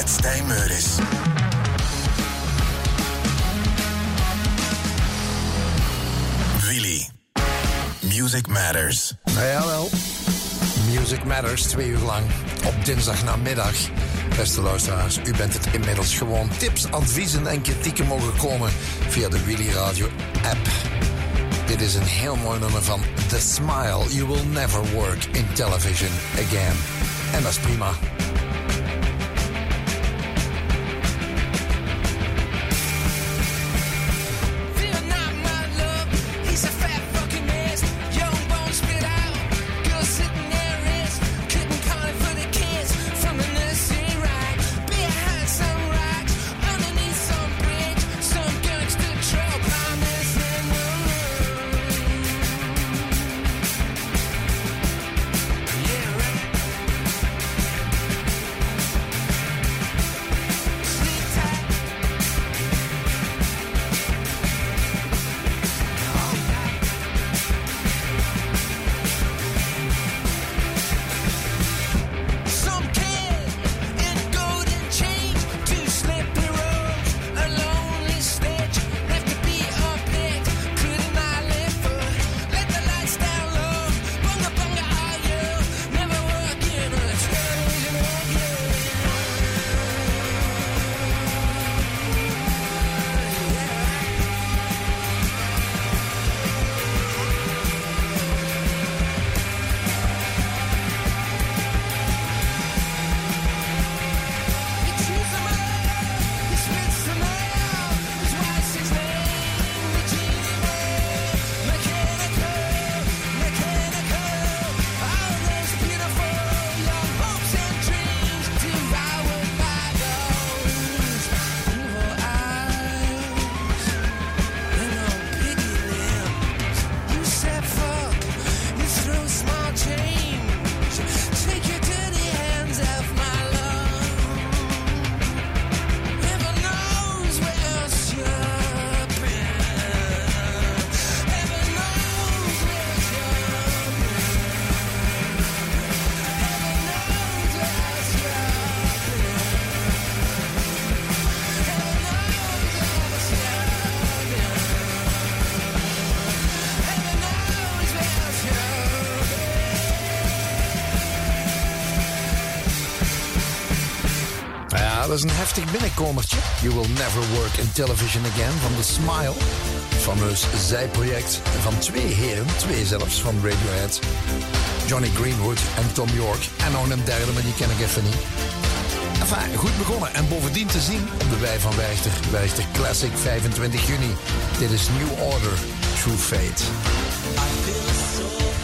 met Stijn Meuris. Willy. Music Matters. Jawel. Music Matters, 2 uur lang. Op dinsdagnamiddag. Beste luisteraars, u bent het inmiddels gewoon. Tips, adviezen en kritieken mogen komen via de Willy Radio app. Dit is een heel mooi nummer van The Smile. You will never work in television again. En dat is prima. Dat is een heftig binnenkomertje. You will never work in television again van The Smile. Fameus zijproject van 2 heren, 2 zelfs, van Radiohead. Johnny Greenwood en Tom York. En nog een derde, maar die ken ik even niet. Enfin, goed begonnen. En bovendien te zien op de Wei van Werchter. Werchter Classic, 25 juni. Dit is New Order, True Fate. I feel so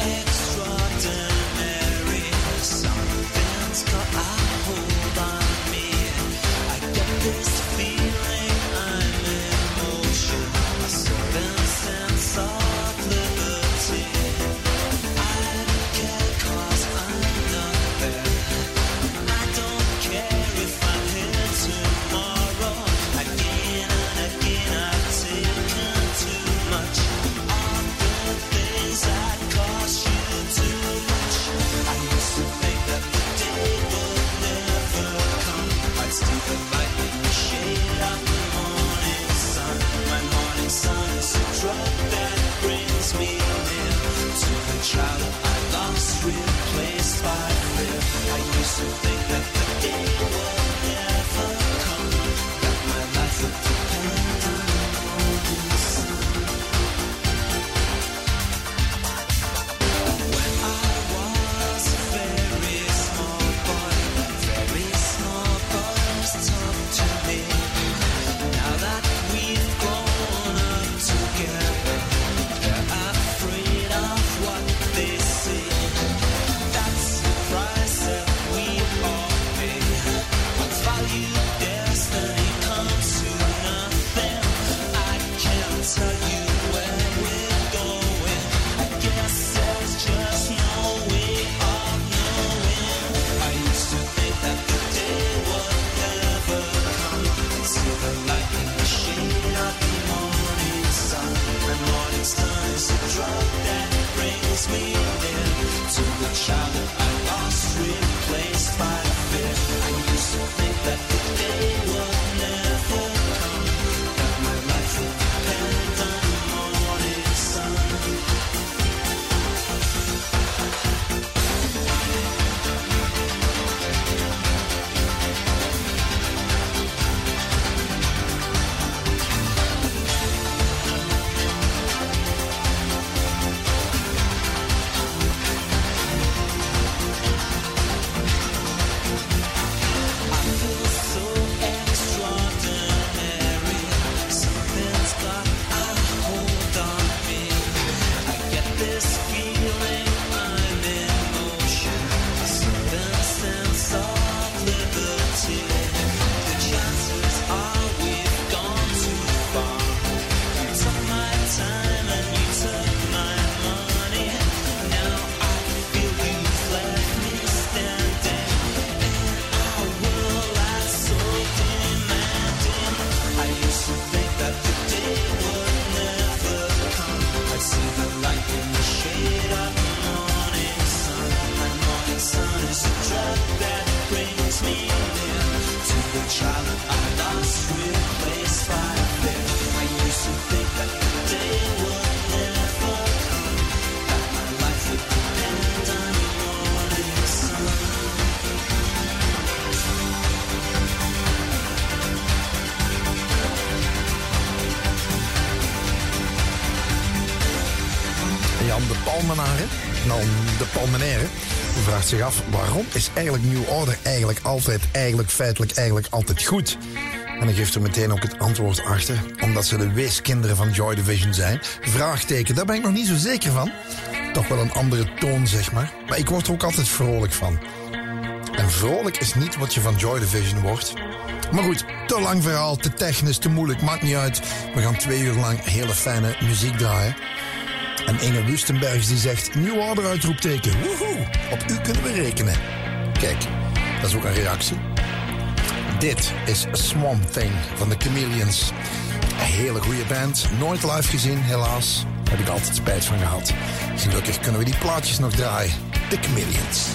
extraordinary. Something's got a hold on me. I get this feeling I'm in motion. A certain sense of liberty. I don't care 'cause I'm not there. I don't care if I'm here tomorrow. Again and again I've taken too much of the things that cost you too much. I used to think that the day would never come. I'd still the light in the shade of the morning sun. My morning sun is a drug that brings me near to the child I lost, replaced by fear. I used to think that the day would never come, that my life would depend on the morning sun. When I was a very small boy used to talk to me. Now that we've grown up together, they're afraid of what they see. That's the price that we all de Palmenaire. U vraagt zich af, waarom is eigenlijk New Order feitelijk altijd goed? En dan geeft er meteen ook het antwoord achter. Omdat ze de weeskinderen van Joy Division zijn. Vraagteken, daar ben ik nog niet zo zeker van. Toch wel een andere toon, zeg maar. Maar ik word er ook altijd vrolijk van. En vrolijk is niet wat je van Joy Division wordt. Maar goed, te lang verhaal, te technisch, te moeilijk, maakt niet uit. We gaan 2 uur lang hele fijne muziek draaien. En Inge Wustenbergs die zegt, New Order uitroepteken. Woehoe, op u kunnen we rekenen. Kijk, dat is ook een reactie. Dit is Swamp Thing van de Chameleons. Een hele goede band. Nooit live gezien, helaas. Daar heb ik altijd spijt van gehad. Gelukkig kunnen we die plaatjes nog draaien. De Chameleons.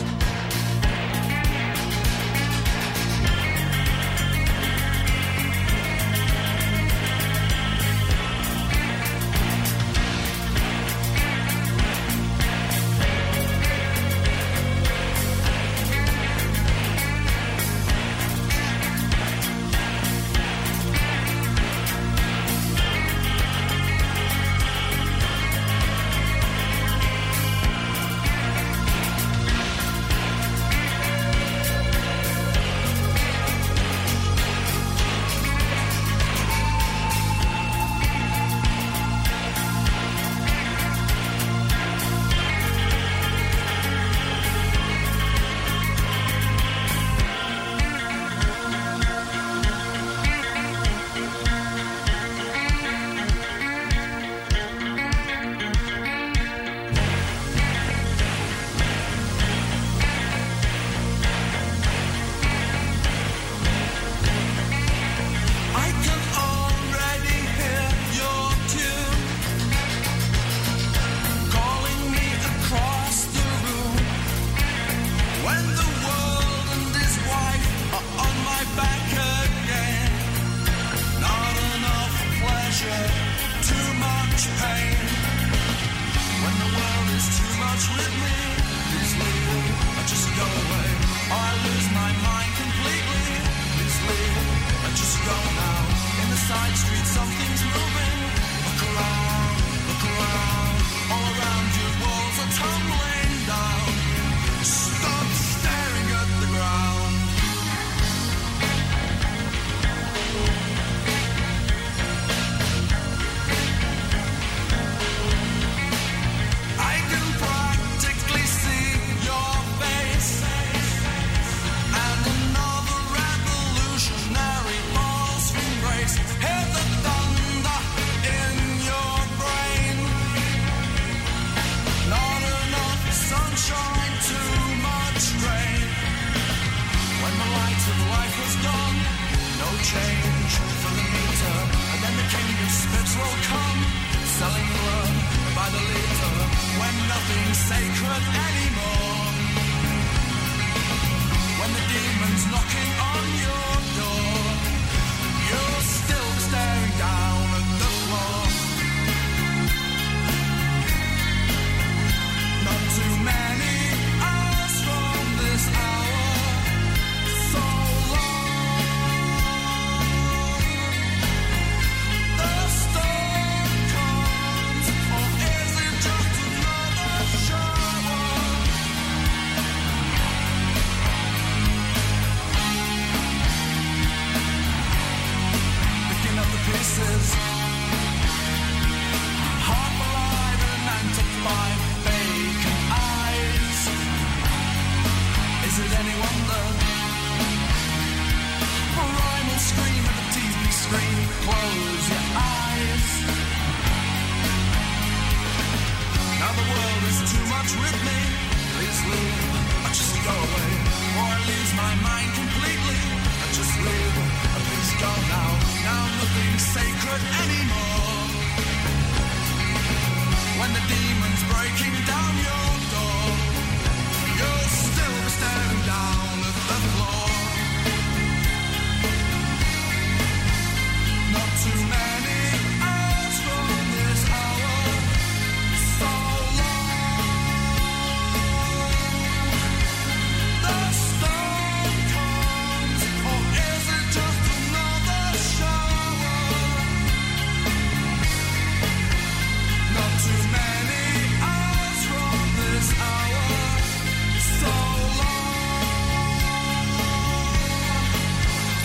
Too many hours from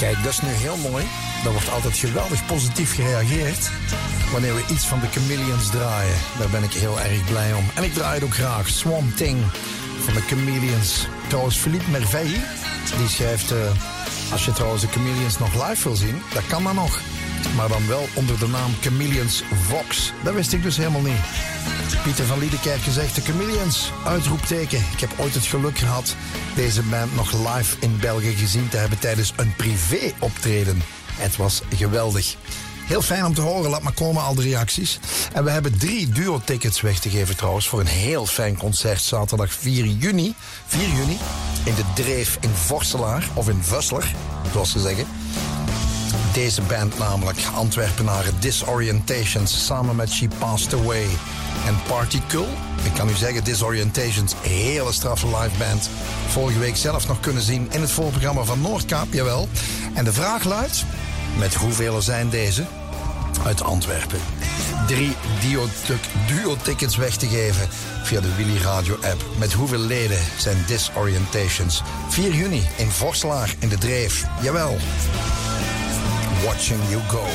Kijk, dat is nu heel mooi. Er wordt altijd geweldig positief gereageerd wanneer we iets van de Chameleons draaien. Daar ben ik heel erg blij om. En ik draai het ook graag. Swamp Thing van de Chameleons. Trouwens, Philippe Merveille, die schrijft... als je trouwens de Chameleons nog live wil zien, dat kan dan nog. Maar dan wel onder de naam Chameleons Vox. Dat wist ik dus helemaal niet. Pieter van Liedekerke zegt de Chameleons, uitroepteken. Ik heb ooit het geluk gehad deze band nog live in België gezien te hebben tijdens een privé-optreden. Het was geweldig. Heel fijn om te horen, laat maar komen al de reacties. En we hebben 3 duo-tickets weg te geven trouwens voor een heel fijn concert zaterdag 4 juni. 4 juni in de Dreef in Vorselaar, of in Vussler, zoals ze zeggen. Deze band namelijk, Antwerpenaren Disorientations, samen met She Passed Away en Party Cool. Ik kan u zeggen, Disorientations, hele straffe live band. Vorige week zelf nog kunnen zien in het voorprogramma van Noordkaap, jawel. En de vraag luidt, met hoeveel zijn deze uit Antwerpen? 3 duo-tickets weg te geven via de Willy Radio app. Met hoeveel leden zijn Disorientations? 4 juni in Vorselaar in de Dreef, jawel. Watching You Go.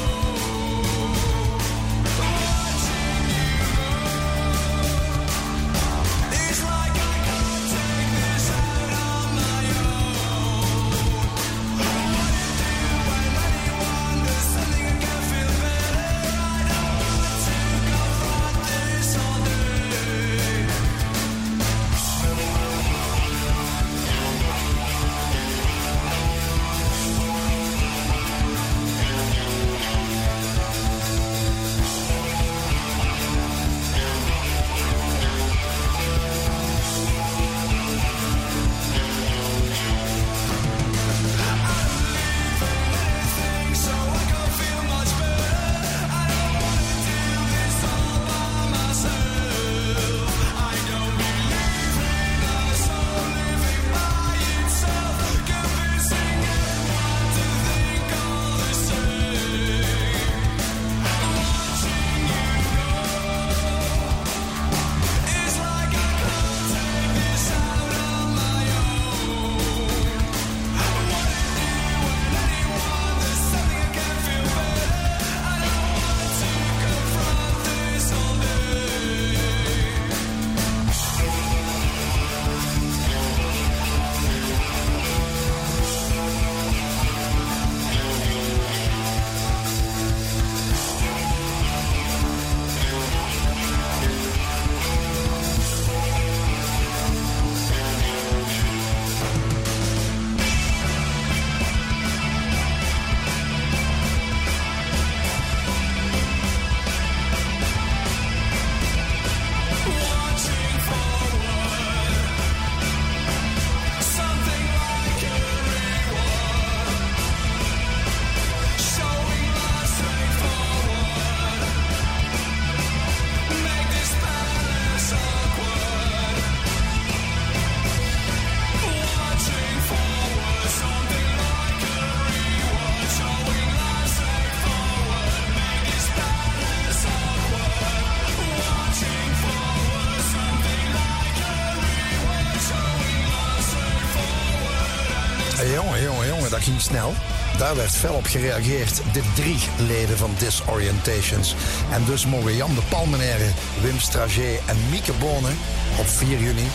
Jongen, dat ging snel. Daar werd fel op gereageerd. De 3 leden van Disorientations. En dus mogen Jan de Palmenaire, Wim Stragé en Mieke Bonen op 4 juni...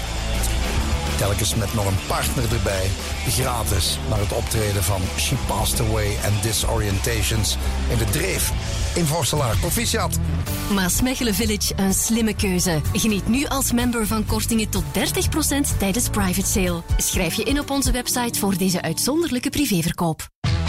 telkens met nog een partner erbij, gratis naar het optreden van She Passed Away en Disorientations in de Dreef in Vorselaar. Proficiat! Maasmechelen Village, een slimme keuze. Geniet nu als member van kortingen tot 30% tijdens private sale. Schrijf je in op onze website voor deze uitzonderlijke privéverkoop.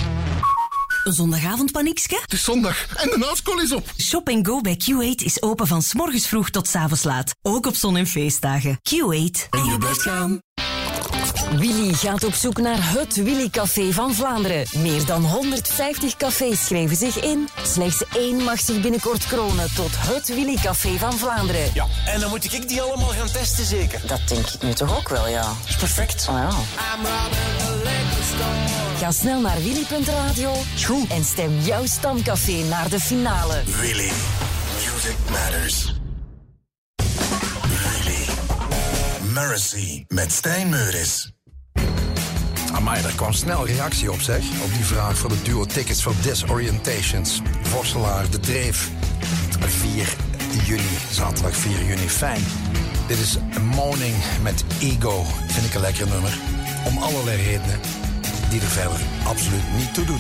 Een zondagavond paniekske? Het is zondag en de houtskool is op. Shop & Go bij Q8 is open van 's morgens vroeg tot 's avonds laat. Ook op zon- en feestdagen. Q8. En je blijft gaan. Willy gaat op zoek naar het Willy Café van Vlaanderen. Meer dan 150 cafés schrijven zich in. Slechts 1 mag zich binnenkort kronen tot het Willy Café van Vlaanderen. Ja, en dan moet ik die allemaal gaan testen zeker? Dat denk ik nu toch ook wel, ja. Dat is perfect. Oh, ja. Ga snel naar willy.radio en stem jouw stamcafé naar de finale. Willy. Music matters. Willy. Mercy met Stijn Meuris. Amai, daar kwam snel reactie op, zeg. Op die vraag voor de duo Tickets for Disorientations. Vorselaar, De Dreef. 4 juni, zaterdag 4 juni. Fijn. Dit is Moaning met Ego. Vind ik een lekker nummer. Om allerlei redenen die er verder absoluut niet toe doen.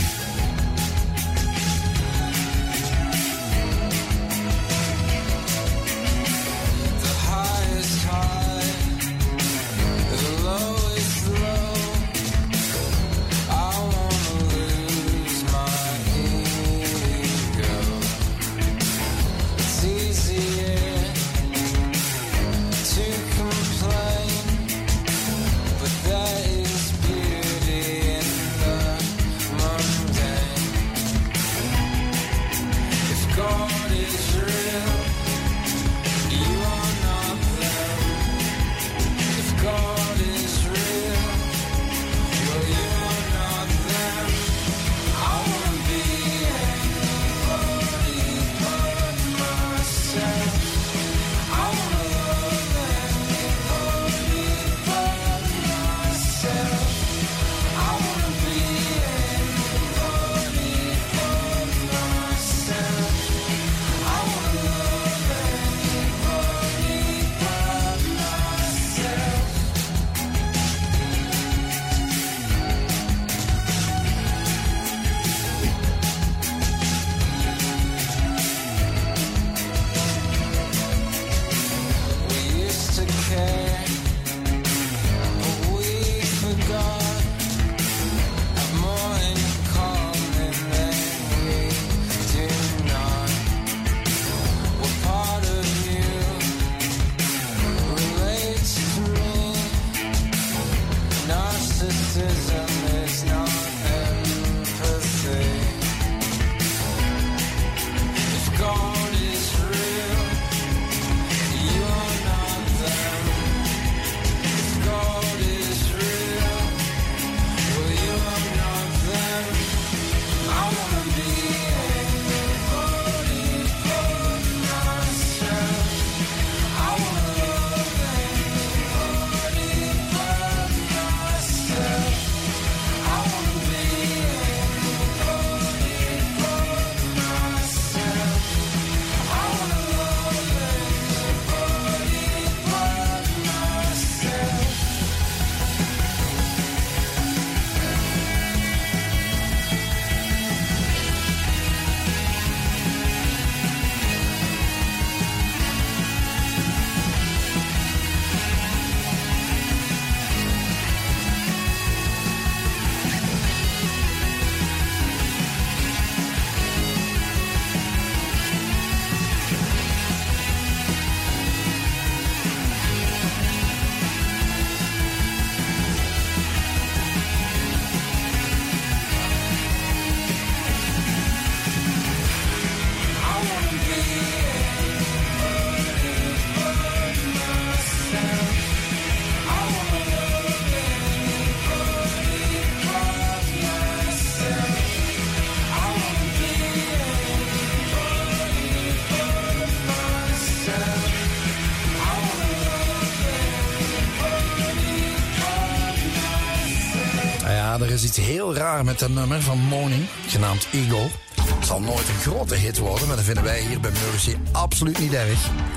Er is iets heel raar met een nummer van Moaning, genaamd Ego. Het zal nooit een grote hit worden, maar dat vinden wij hier bij Mercy absoluut niet erg.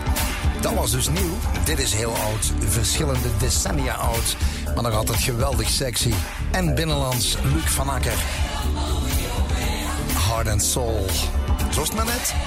Dat was dus nieuw. Dit is heel oud, verschillende decennia oud, maar nog altijd geweldig sexy. En binnenlands, Luc van Akker. Heart and Soul. Zo is het maar net.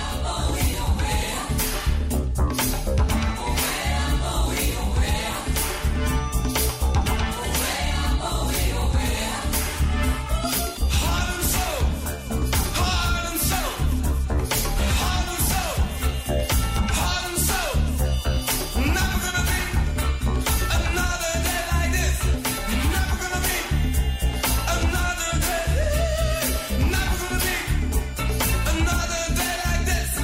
Another day like this.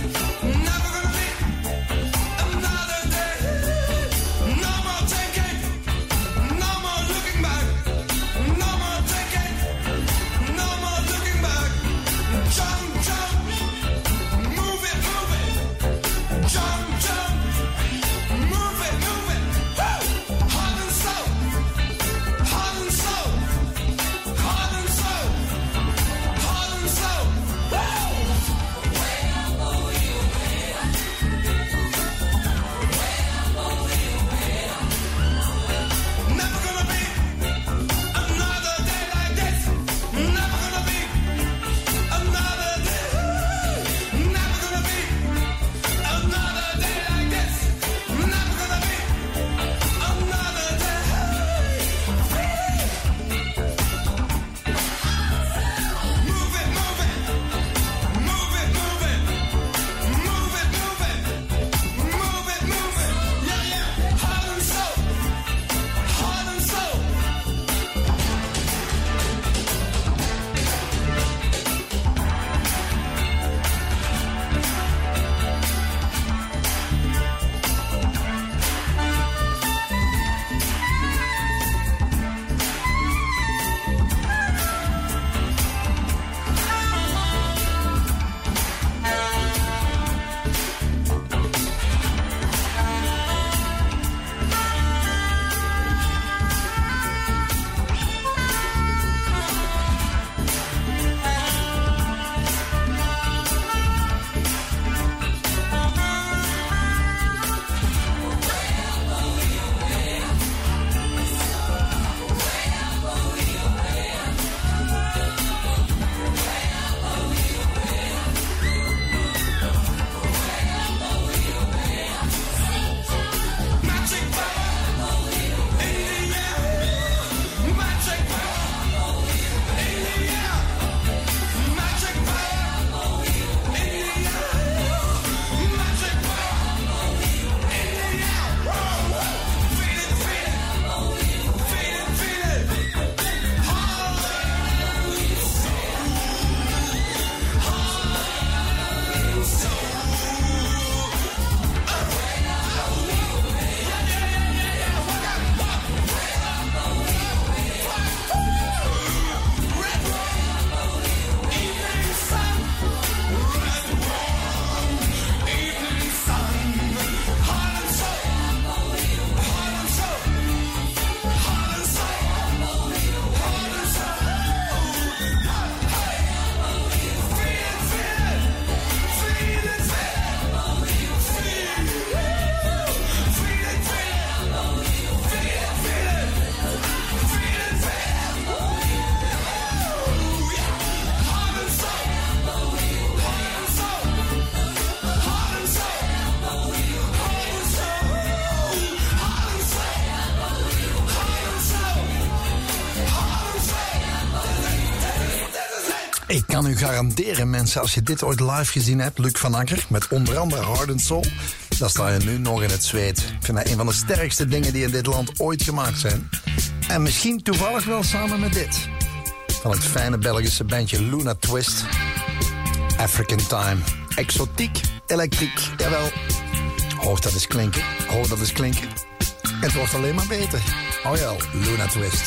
Ik kan u garanderen, mensen, als je dit ooit live gezien hebt, Luc van Akker, met onder andere Heart and Soul, dan sta je nu nog in het zweet. Ik vind dat een van de sterkste dingen die in dit land ooit gemaakt zijn. En misschien toevallig wel samen met dit. Van het fijne Belgische bandje Luna Twist. African Time. Exotiek, elektriek, jawel. Hoor dat eens klinken, hoor dat eens klinken. Het wordt alleen maar beter. Oh ja, Luna Twist.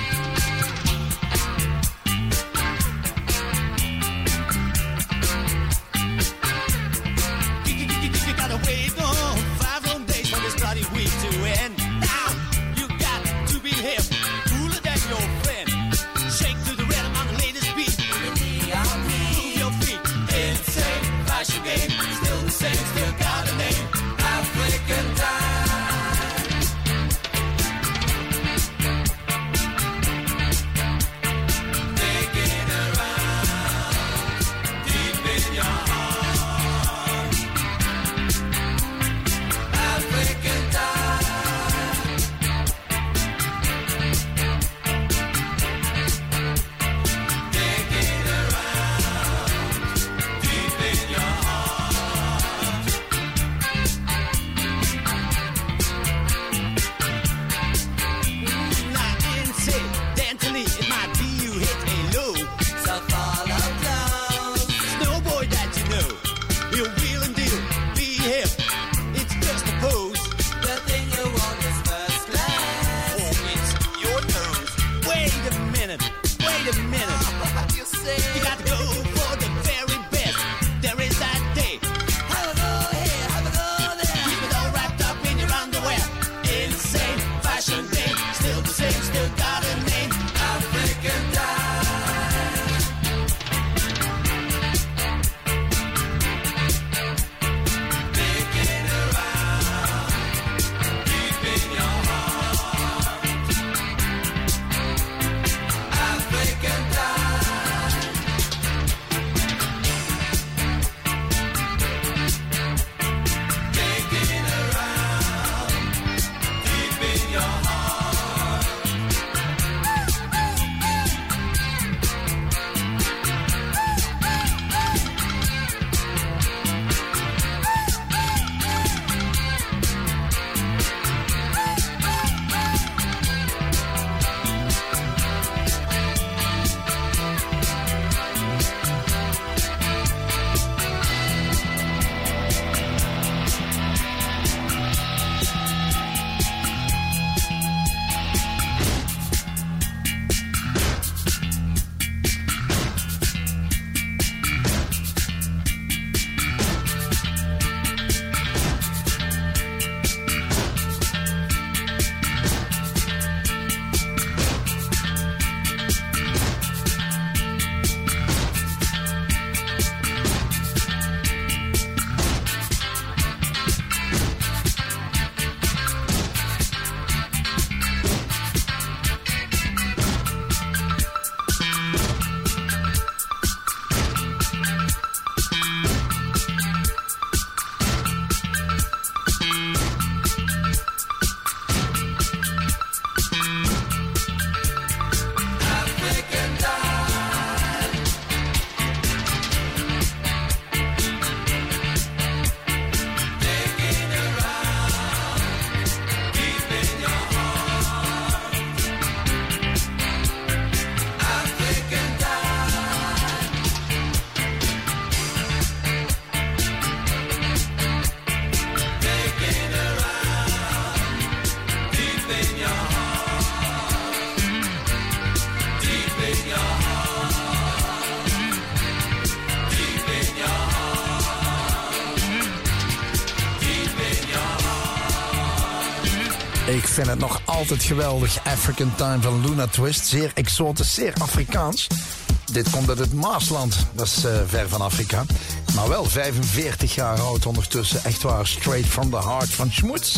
Ik vind het nog altijd geweldig. African Time van Luna Twist. Zeer exotisch, zeer Afrikaans. Dit komt uit het Maasland. Dat is ver van Afrika. Maar wel 45 jaar oud ondertussen. Echt waar, straight from the heart van Schmoets.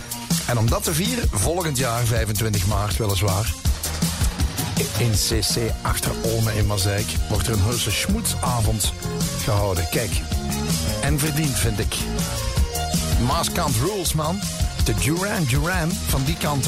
En om dat te vieren, volgend jaar, 25 maart weliswaar, in CC achter Ome in Mazeik, wordt er een heuse Schmoetsavond gehouden. Kijk, en verdiend vind ik. Maaskant rules, man. De Duran Duran van die kanten.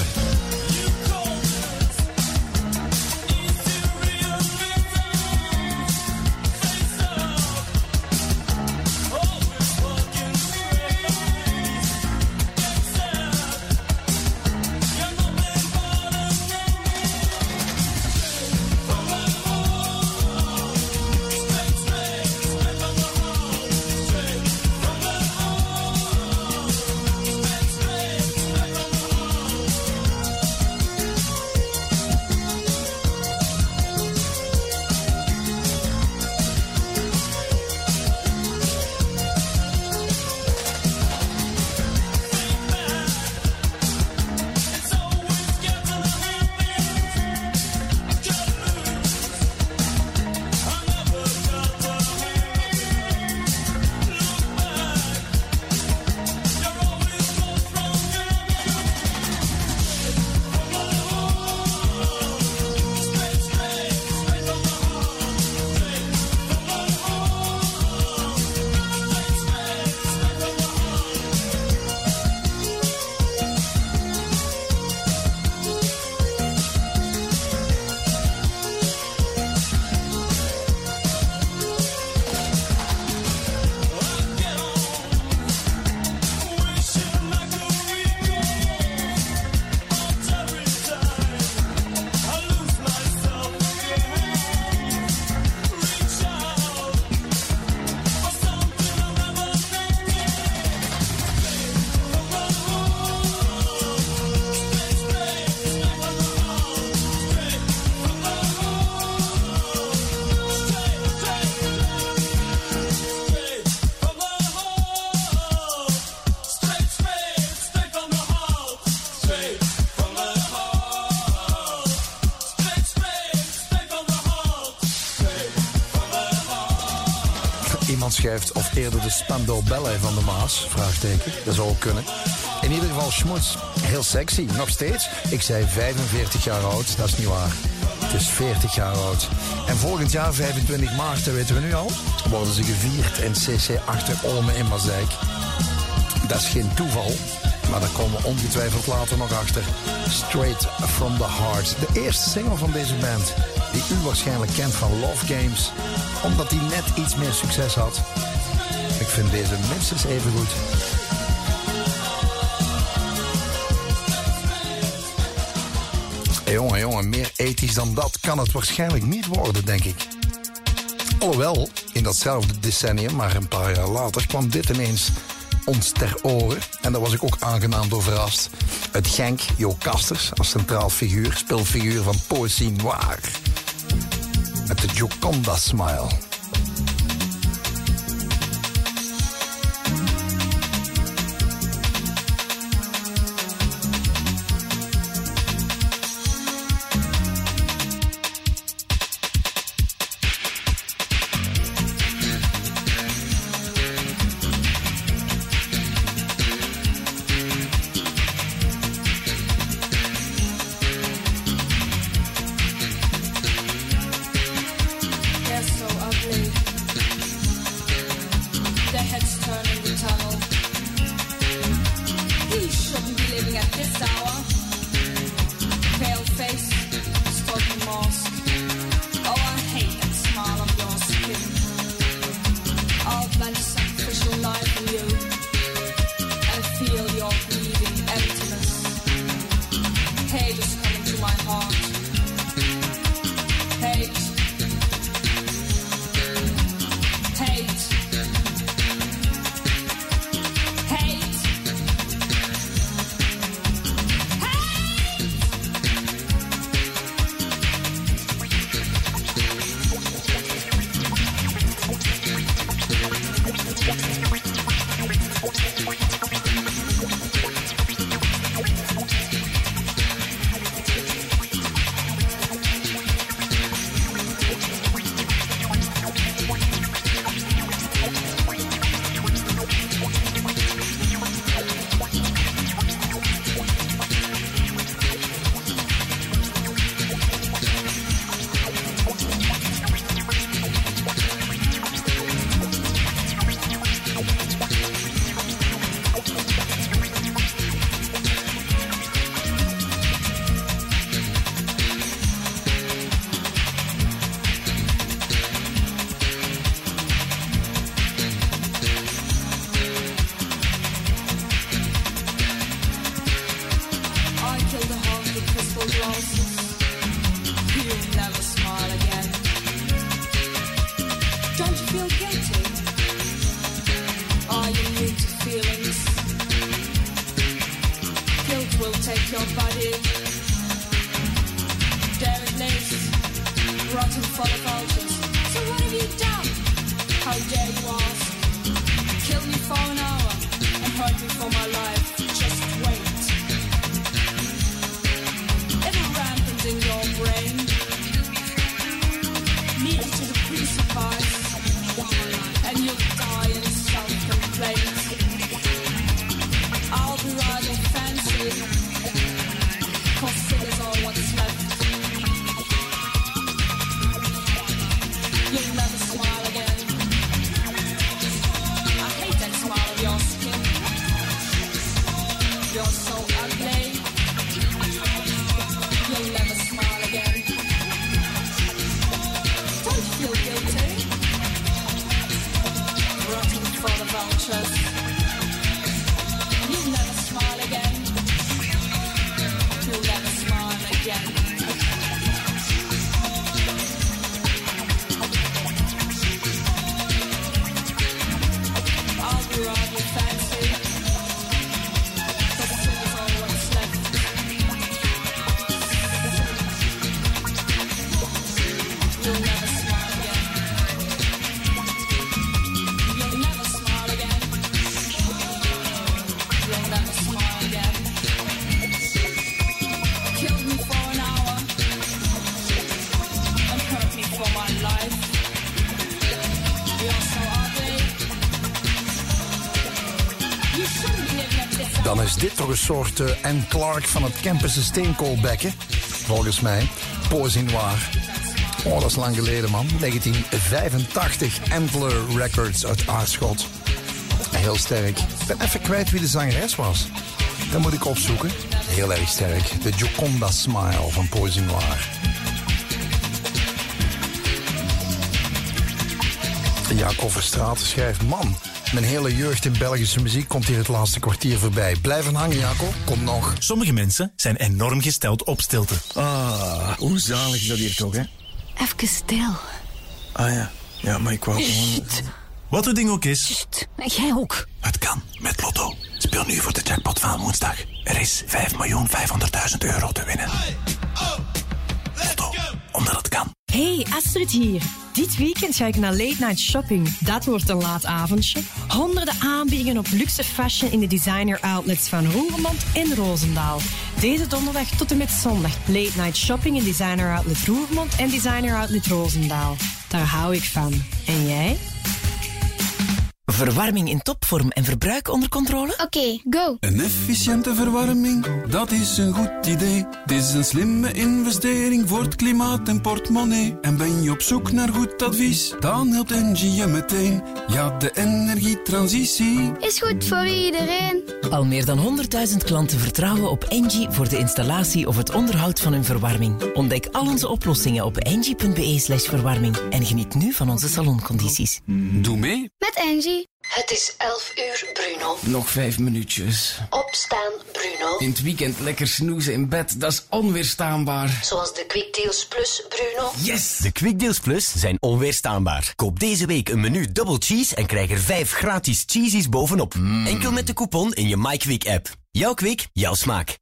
Iemand schrijft of eerder de Spandau Ballet van de Maas, vraagteken. Dat zou ook kunnen. In ieder geval schmoets, heel sexy, nog steeds. Ik zei 45 jaar oud, dat is niet waar. Het is 40 jaar oud. En volgend jaar, 25 maart, dat weten we nu al, worden ze gevierd in CC Achter Olme in Mazeik. Dat is geen toeval, maar daar komen we ongetwijfeld later nog achter. Straight from the Heart, de eerste single van deze band, die u waarschijnlijk kent van Love Games, omdat die net iets meer succes had. Ik vind deze minstens even goed. Jongen, meer ethisch dan dat kan het waarschijnlijk niet worden, denk ik. Alhoewel, in datzelfde decennium, maar een paar jaar later, kwam dit ineens ons ter oren. En daar was ik ook aangenaam door verrast. Uit Genk, Jo Kasters als centraal figuur, speelfiguur van Poëzie Noire. Met de Gioconda Smile. For my life, you're so ugly. is dit toch een soort Anne Clark van het Kempense steenkoolbekken? Volgens mij. Poésie Noir. Oh, dat is lang geleden, man. 1985. Antler Records uit Aarschot. Heel sterk. Ik ben even kwijt wie de zangeres was. Dat moet ik opzoeken. Heel erg sterk. De Gioconda Smile van Poésie Noir. Jacob Verstraat schrijft... Man, mijn hele jeugd in Belgische muziek komt hier het laatste kwartier voorbij. Blijf hangen, Jacob. Kom nog. Sommige mensen zijn enorm gesteld op stilte. Hoe zalig is dat hier toch, hè? Even stil. Ah ja. Ja, maar ik wou gewoon... Wat het ding ook is... Sst, jij ook. Het kan met Lotto. Speel nu voor de jackpot van woensdag. Er is 5.500.000 euro te winnen. Lotto, omdat het kan. Hey, Astrid hier. Dit weekend ga ik naar Late Night Shopping. Dat wordt een laat avondje. Honderden aanbiedingen op luxe fashion in de designer outlets van Roermond en Roosendaal. Deze donderdag tot en met zondag. Late Night Shopping in designer outlet Roermond en designer outlet Roosendaal. Daar hou ik van. En jij? Verwarming in topvorm en verbruik onder controle? Oké, go. Een efficiënte verwarming, dat is een goed idee. Het is een slimme investering voor het klimaat en portemonnee. En ben je op zoek naar goed advies, dan helpt Engie je meteen. Ja, de energietransitie is goed voor iedereen. Al meer dan 100.000 klanten vertrouwen op Engie voor de installatie of het onderhoud van hun verwarming. Ontdek al onze oplossingen op engie.be/verwarming en geniet nu van onze saloncondities. Doe mee. Met Engie. Het is 11 uur, Bruno. Nog 5 minuutjes. Opstaan, Bruno. In het weekend lekker snoezen in bed, dat is onweerstaanbaar. Zoals de Quick Deals Plus, Bruno. Yes! De Quick Deals Plus zijn onweerstaanbaar. Koop deze week een menu double cheese en krijg er 5 gratis cheesies bovenop. Enkel met de coupon in je MyQuick-app. Jouw Quick, jouw smaak.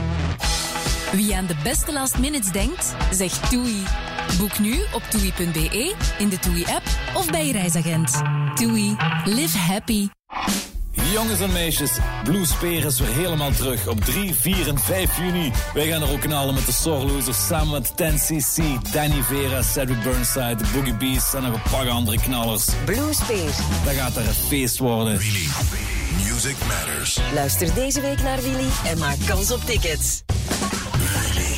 Wie aan de beste last minutes denkt, zegt TUI. Boek nu op TUI.be, in de TUI-app of bij je reisagent. TUI. Live happy. Jongens en meisjes, Bluespeer is weer helemaal terug op 3, 4 en 5 juni. Wij gaan er ook knallen met de Sorlosers samen met 10cc, Danny Vera, Cedric Burnside, de Boogie Beats en nog een paar andere knallers. Bluespeer. Dat gaat er een feest worden. Really? Music matters. Luister deze week naar Willy en maak kans op tickets. Really?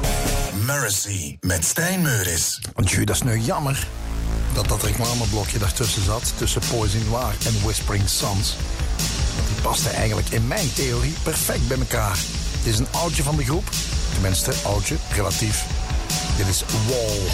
Mercy met Stijn Meuris. Want dat is nu jammer dat reclameblokje daartussen zat, tussen Poésie Noir en Whispering Suns. Die paste eigenlijk in mijn theorie perfect bij elkaar. Dit is een oudje van de groep, tenminste oudje, relatief. Dit is Wall.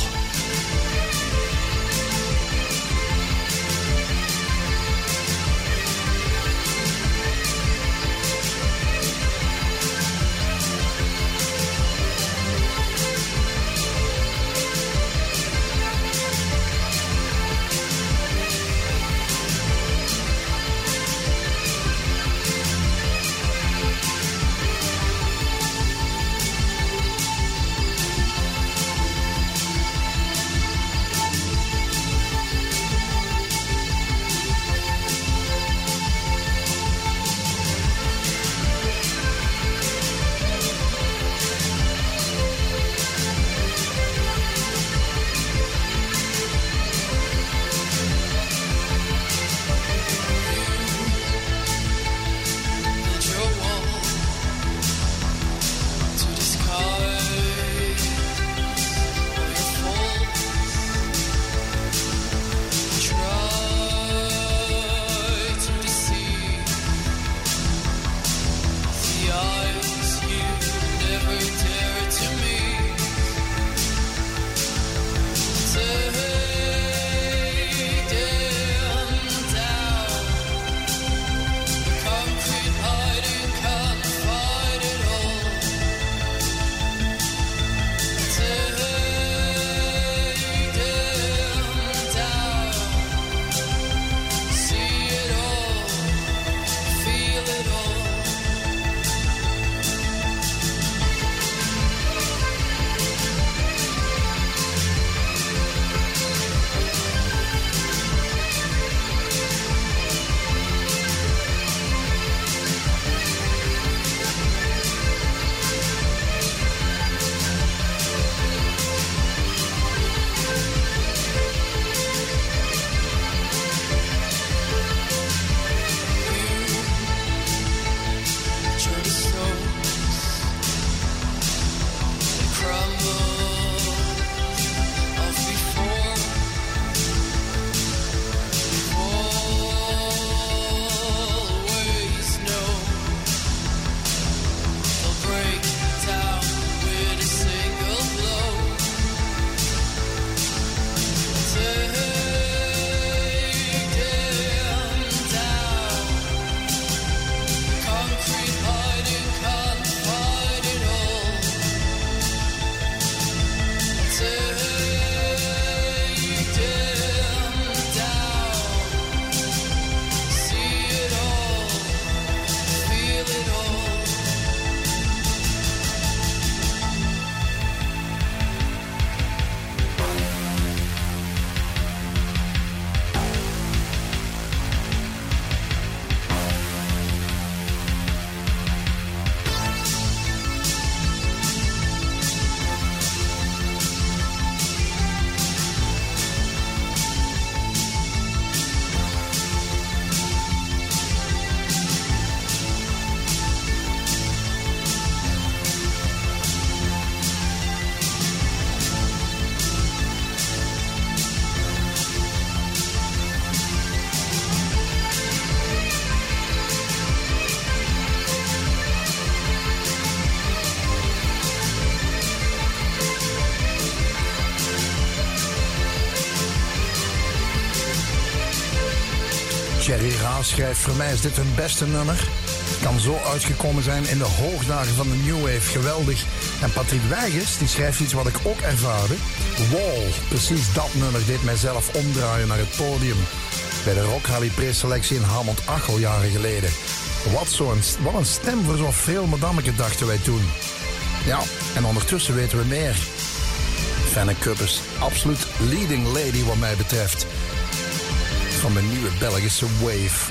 Thierry Raas schrijft: voor mij is dit hun beste nummer. Het kan zo uitgekomen zijn in de hoogdagen van de New Wave. Geweldig. En Patrick Weigers, die schrijft iets wat ik ook ervaarde. Wall, precies dat nummer deed mijzelf omdraaien naar het podium. Bij de Rock Rally preselectie in Hamont-Achel jaren geleden. Wat een stem voor zo'n veel madameke, dachten wij toen. Ja, en ondertussen weten we meer. Fenne Kuppers, absoluut leading lady wat mij betreft. Van de nieuwe Belgische wave.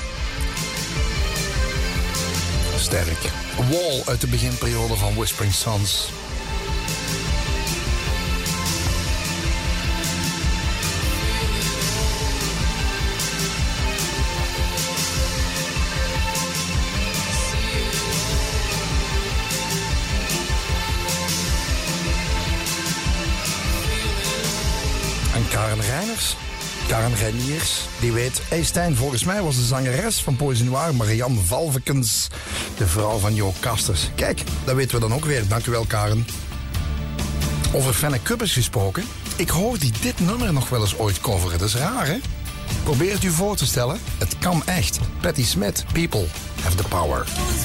Sterk. Wall uit de beginperiode van Whispering Sons. En Karen Reiniers, die weet... Hey Stijn, volgens mij was de zangeres van Poison Noir Marianne Valvekens de vrouw van Jo Kasters. Kijk, dat weten we dan ook weer. Dank u wel, Karen. Over Fenne Kuppers gesproken. Ik hoor die dit nummer nog wel eens ooit coveren. Dat is raar, hè? Probeer het u voor te stellen. Het kan echt. Patti Smith, People Have the Power.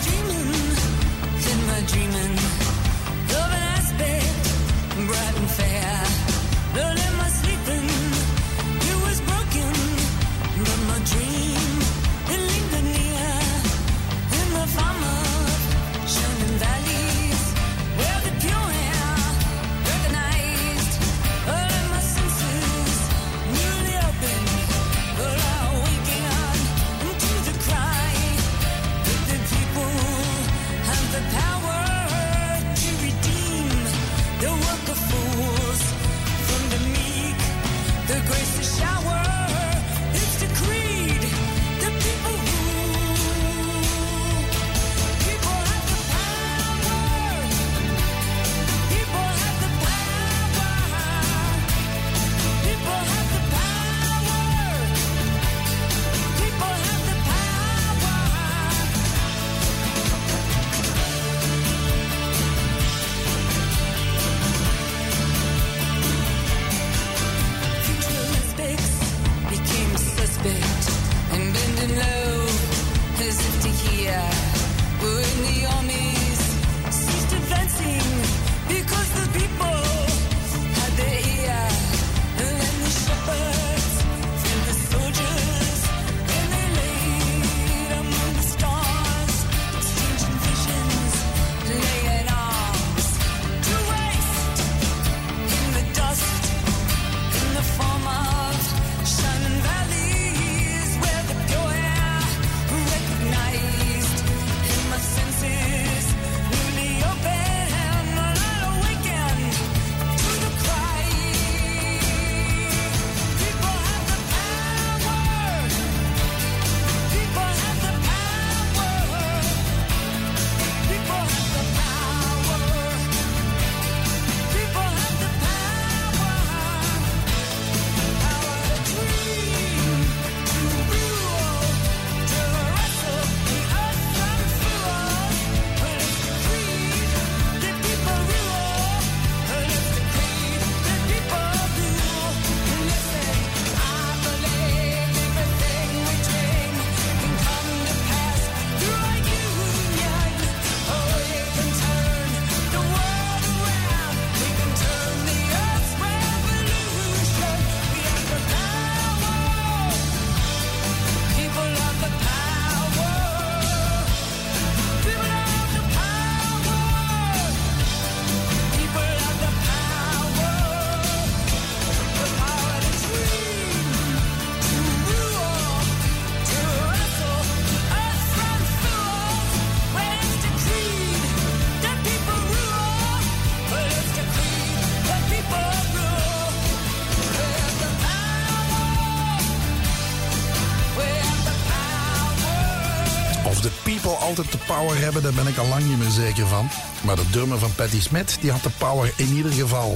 Altijd de power hebben, daar ben ik al lang niet meer zeker van. Maar de drummer van Patti Smith, die had de power in ieder geval.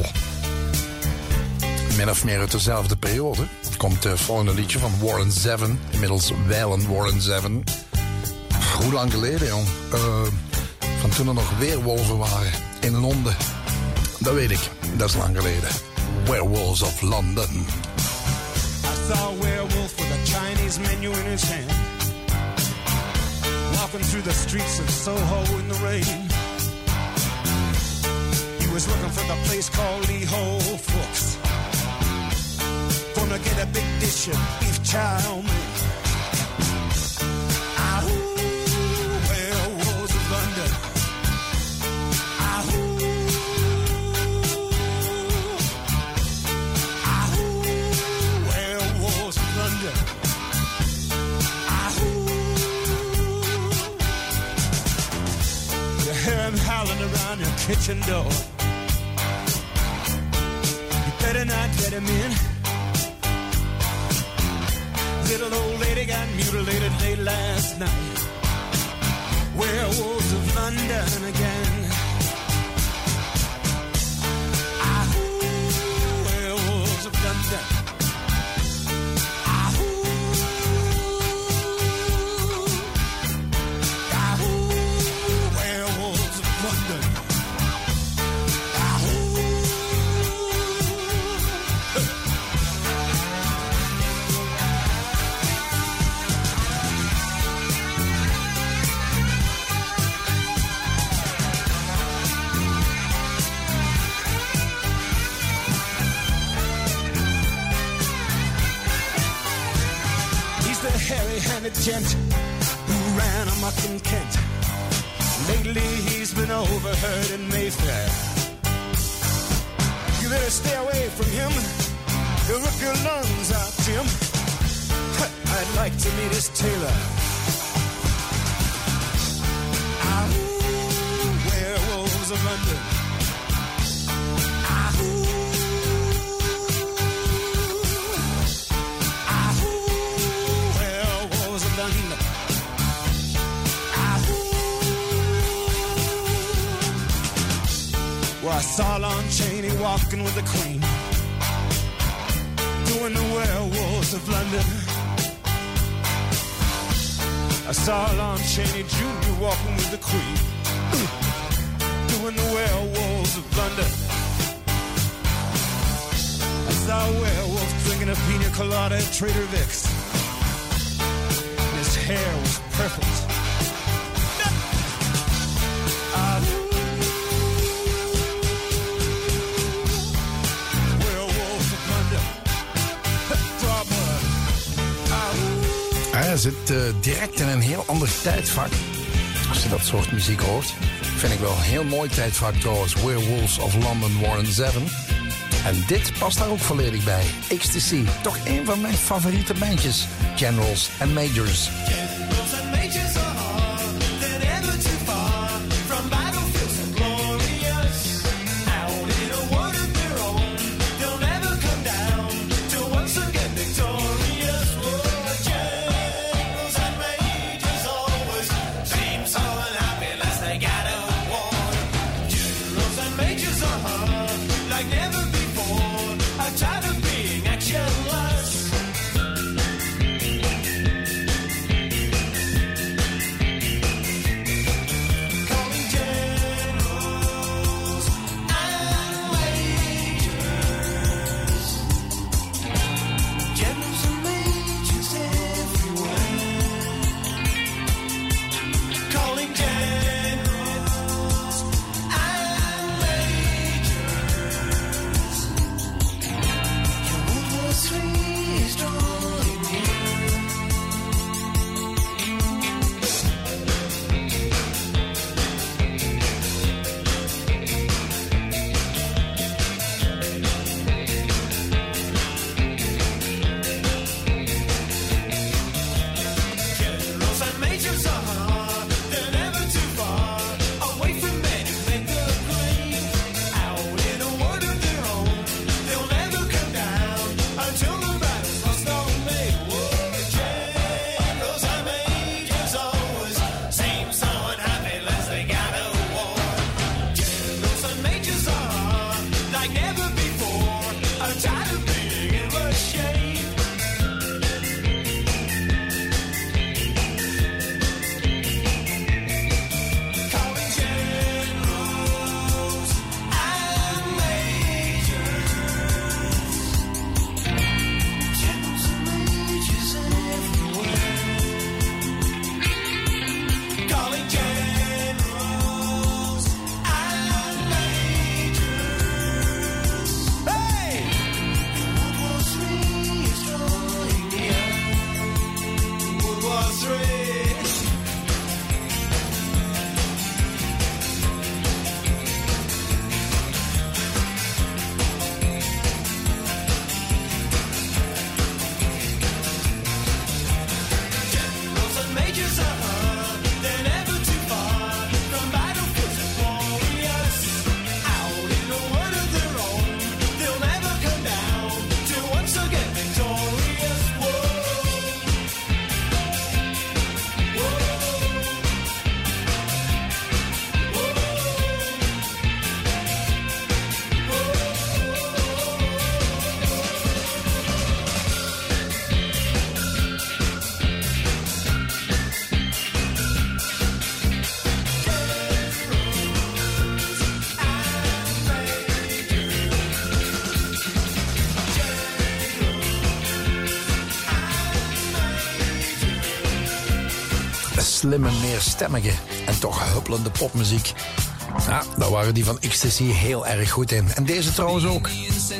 Min of meer uit dezelfde periode komt het volgende liedje van Warren Zevon. Inmiddels wijlen Warren Zevon. Hoe lang geleden, jong? Van toen er nog weerwolven waren in Londen. Dat weet ik, dat is lang geleden. Werewolves of London. I saw a werewolf with a Chinese Chinese menu in his hand, walking through the streets of Soho in the rain. He was looking for the place called Lee Ho Fooks. Gonna get a big dish of beef chow mein. Werewolves of London. Werewolves of London. You hear him howling around your kitchen door. You better not let him in. Little old lady got mutilated late last night. Werewolves of London again. Werewolves of London. Werewolves of London. Hairy-handed gent who ran amok in Kent. Lately he's been overheard in Mayfair. You better stay away from him. He'll rip your lungs out, Jim. I'd like to meet his tailor. Werewolves of London. Well, I saw Lon Chaney walking with the Queen, doing the Werewolves of London. I saw Lon Chaney Jr. walking with the Queen, doing the Werewolves of London. I saw a werewolf drinking a pina colada at Trader Vic's. His hair was perfect. Hij zit direct in een heel ander tijdvak. Als je dat soort muziek hoort. Vind ik wel een heel mooi tijdvak trouwens. Werewolves of London, Warren Zevon. En dit past daar ook volledig bij. Ecstasy, toch een van mijn favoriete bandjes. Generals and Majors. Generals and Majors are hard, they're never too far from battlefields and glorious. Out in a world of their own, they'll never come down till once again victorious. Oh, generals and majors always seem so unhappy unless they got a war. Generals and majors are hard, like never before. I'm tired of being actionless. slimme, meerstemmige en toch huppelende popmuziek. Ja, daar waren die van Ecstasy heel erg goed in. En deze trouwens ook.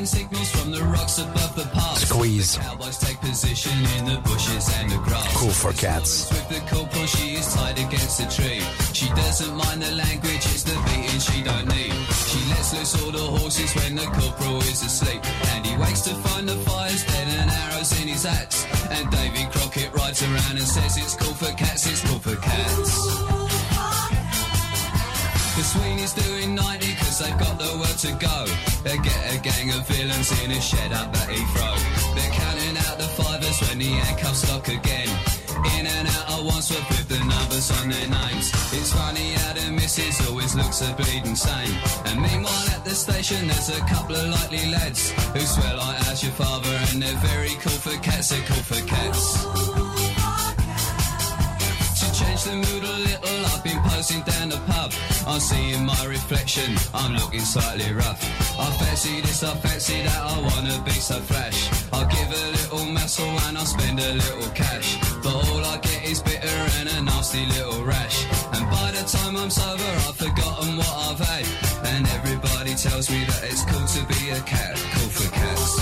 Squeeze. Cool for Cats. She doesn't mind the language, it's the beating she don't need. She lets loose all the horses when the corporal is asleep. And he wakes to find the fire's dead and arrows in his axe. And Davy Crockett rides around and says it's cool for cats, it's cool for cats. The Sweeney's doing 90 cause they've got the world to go. They get a gang of villains in a shed up at Heathrow. They're counting out the fivers when the handcuffs lock again. In and out at once with the numbers on their names. It's funny how the missus always looks a bleeding sane. And meanwhile at the station there's a couple of likely lads who swear like how's your father, and they're very cool for cats, they're cool for cats. Change the mood a little, I've been posing down the pub. I'm seeing my reflection, I'm looking slightly rough. I fancy this, I fancy that, I wanna be so flash. I'll give a little muscle and I'll spend a little cash. But all I get is bitter and a nasty little rash. And by the time I'm sober I've forgotten what I've had. And everybody tells me that it's cool to be a cat, cool for cats.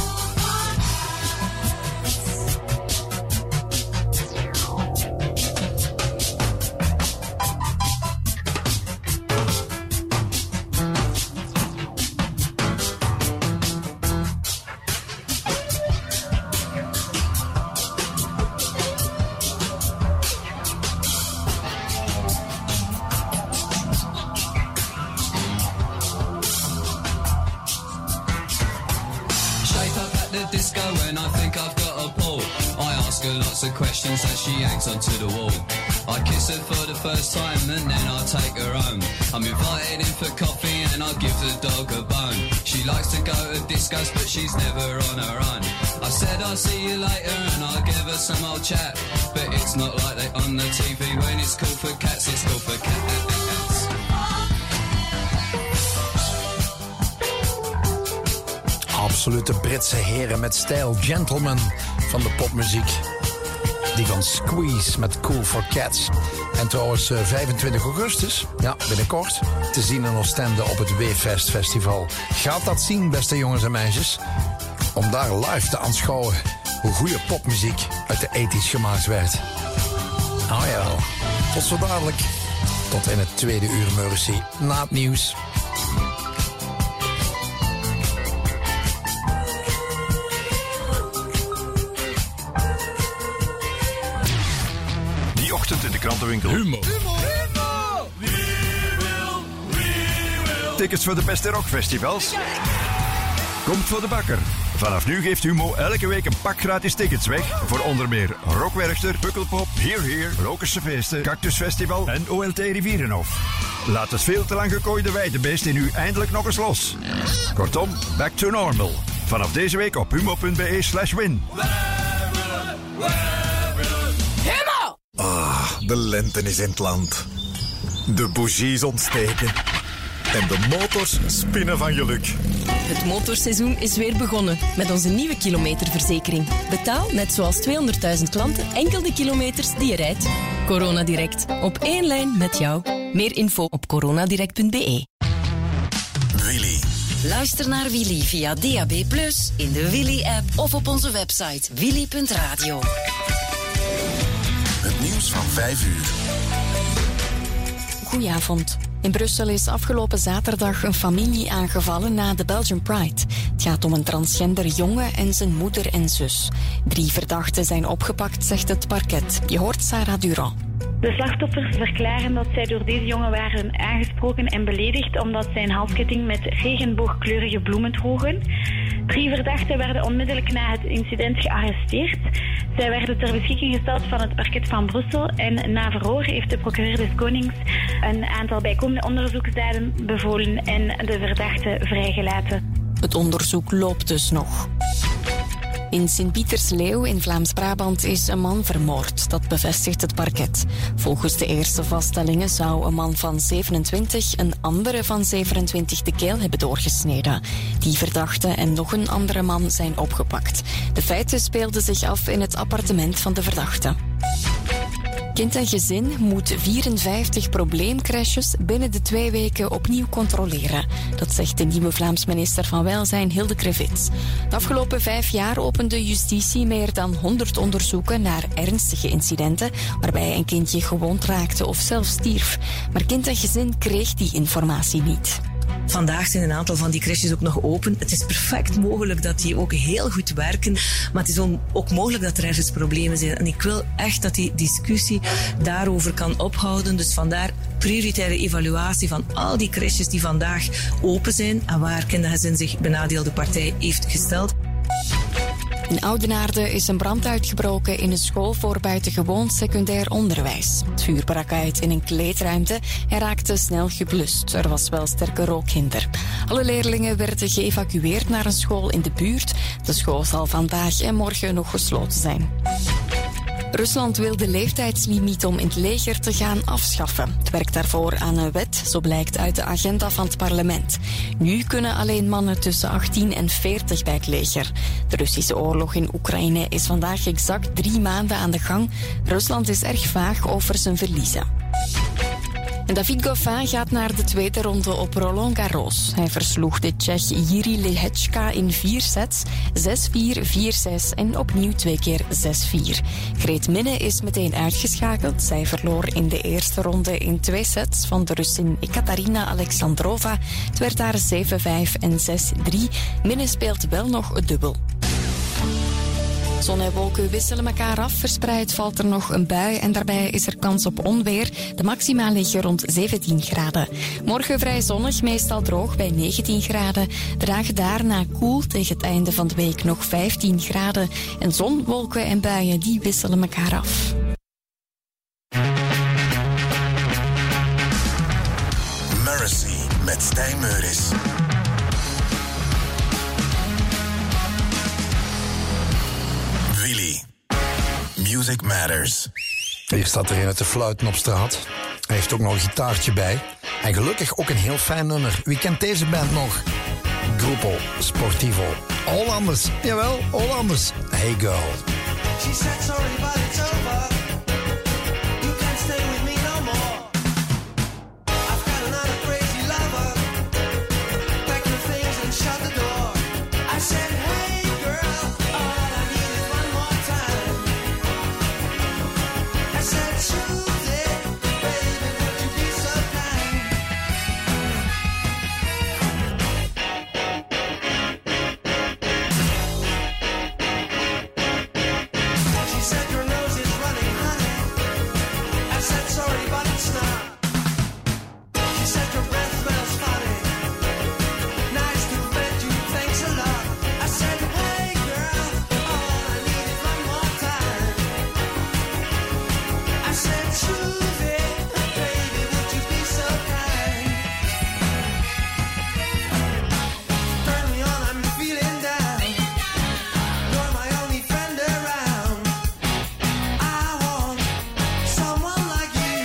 Questions as she hangs onto the wall. I kiss her for the first time and then I take her home. I'm invited in for coffee and I give the dog a bone. She likes to go to discos but she's never on her own. I said I'll see you later and I'll give her some old chat. But it's not like they on the TV when it's cool for cats, it's cool for cats. Absolute Britse heren met stijl, gentlemen van de popmuziek. Die van Squeeze met Cool for Cats. En trouwens 25 augustus, ja, binnenkort, te zien in Oostende op het Weefest Festival. Gaat dat zien, beste jongens en meisjes. Om daar live te aanschouwen hoe goede popmuziek uit de 80's gemaakt werd. Oh jawel, tot zo dadelijk. Tot in het tweede uur Mercy, na het nieuws. In de krantenwinkel. Humo. Tickets voor de beste rockfestivals? Komt voor de bakker. Vanaf nu geeft Humo elke week een pak gratis tickets weg voor onder meer Rockwerchter, Pukkelpop, Here, Rokerse Feesten, Cactus Festival en OLT Rivierenhof. Laat het veel te lang gekooide weidebeest in u eindelijk nog eens los. Kortom, back to normal. Vanaf deze week op humo.be/win. De lente is in het land. De bougies ontsteken. En de motors spinnen van geluk. Het motorseizoen is weer begonnen met onze nieuwe kilometerverzekering. Betaal, net zoals 200.000 klanten, enkel de kilometers die je rijdt. Corona Direct. Op één lijn met jou. Meer info op coronadirect.be. Willy. Luister naar Willy via DAB+, in de Willy-app of op onze website willy.radio. Het nieuws van 5 uur. Goedenavond. In Brussel is afgelopen zaterdag een familie aangevallen na de Belgian Pride. Het gaat om een transgender jongen en zijn moeder en zus. 3 verdachten zijn opgepakt, zegt het parket. Je hoort Sarah Durand. De slachtoffers verklaren dat zij door deze jongen waren aangesproken en beledigd omdat zij een halsketting met regenboogkleurige bloemen droegen. 3 verdachten werden onmiddellijk na het incident gearresteerd. Zij werden ter beschikking gesteld van het parket van Brussel en na verhoor heeft de procureur des Konings een aantal bijkomende onderzoeksdaden bevolen en de verdachten vrijgelaten. Het onderzoek loopt dus nog. In Sint-Pietersleeuw in Vlaams-Brabant is een man vermoord. Dat bevestigt het parket. Volgens de eerste vaststellingen zou een man van 27 een andere van 27 de keel hebben doorgesneden. Die verdachte en nog een andere man zijn opgepakt. De feiten speelden zich af in het appartement van de verdachte. Kind en Gezin moet 54 probleemcrashes binnen de 2 weken opnieuw controleren. Dat zegt de nieuwe Vlaams minister van Welzijn, Hilde Krevits. De afgelopen 5 jaar opende justitie meer dan 100 onderzoeken naar ernstige incidenten waarbij een kindje gewond raakte of zelfs stierf. Maar Kind en Gezin kreeg die informatie niet. Vandaag zijn een aantal van die crèches ook nog open. Het is perfect mogelijk dat die ook heel goed werken, maar het is ook mogelijk dat er ergens problemen zijn. En ik wil echt dat die discussie daarover kan ophouden. Dus vandaar prioritaire evaluatie van al die crèches die vandaag open zijn en waar Kind en Gezin zich benadeelde partij heeft gesteld. In Oudenaarde is een brand uitgebroken in een school voor buitengewoon secundair onderwijs. Het vuur brak uit in een kleedruimte en raakte snel geblust. Er was wel sterke rookhinder. Alle leerlingen werden geëvacueerd naar een school in de buurt. De school zal vandaag en morgen nog gesloten zijn. Rusland wil de leeftijdslimiet om in het leger te gaan afschaffen. Het werkt daarvoor aan een wet, zo blijkt uit de agenda van het parlement. Nu kunnen alleen mannen tussen 18 en 40 bij het leger. De Russische oorlog in Oekraïne is vandaag exact 3 maanden aan de gang. Rusland is erg vaag over zijn verliezen. En David Goffin gaat naar de tweede ronde op Roland Garros. Hij versloeg de Tsjech Jiří Lehečka in 4 sets, 6-4, 4-6 en opnieuw 2 keer 6-4. Greet Minne is meteen uitgeschakeld. Zij verloor in de eerste ronde in 2 sets van de Russin Ekaterina Alexandrova. Het werd daar 7-5 en 6-3. Minne speelt wel nog het dubbel. Zon en wolken wisselen elkaar af. Verspreid valt er nog een bui en daarbij is er kans op onweer. De maxima liggen rond 17 graden. Morgen vrij zonnig, meestal droog bij 19 graden. De dagen daarna koel, tegen het einde van de week nog 15 graden. En zon, wolken en buien die wisselen elkaar af. Mercy met Stijn Meuris. Willy. Music Matters. Hier staat er een uit de fluiten op straat. Hij heeft ook nog een gitaartje bij. En gelukkig ook een heel fijn nummer. Wie kent deze band nog? Gruppo Sportivo. Hollanders. Jawel, Hollanders. Hey girl. She said sorry but it's over. You can't stay with me no more. I've got another crazy lover. Pack your things and shut the door. I said hey girl, all I need is one more time. I said choose it, baby, would you be so kind? She said your nose is running, honey. I said sorry, but it's not. She said your breath smells funny. Nice to meet you, thanks a lot. I said hey girl, all I need is one more time. I said choose it, baby, would you be so kind? Turn me on, I'm feeling down. You're my only friend around. I want someone like you.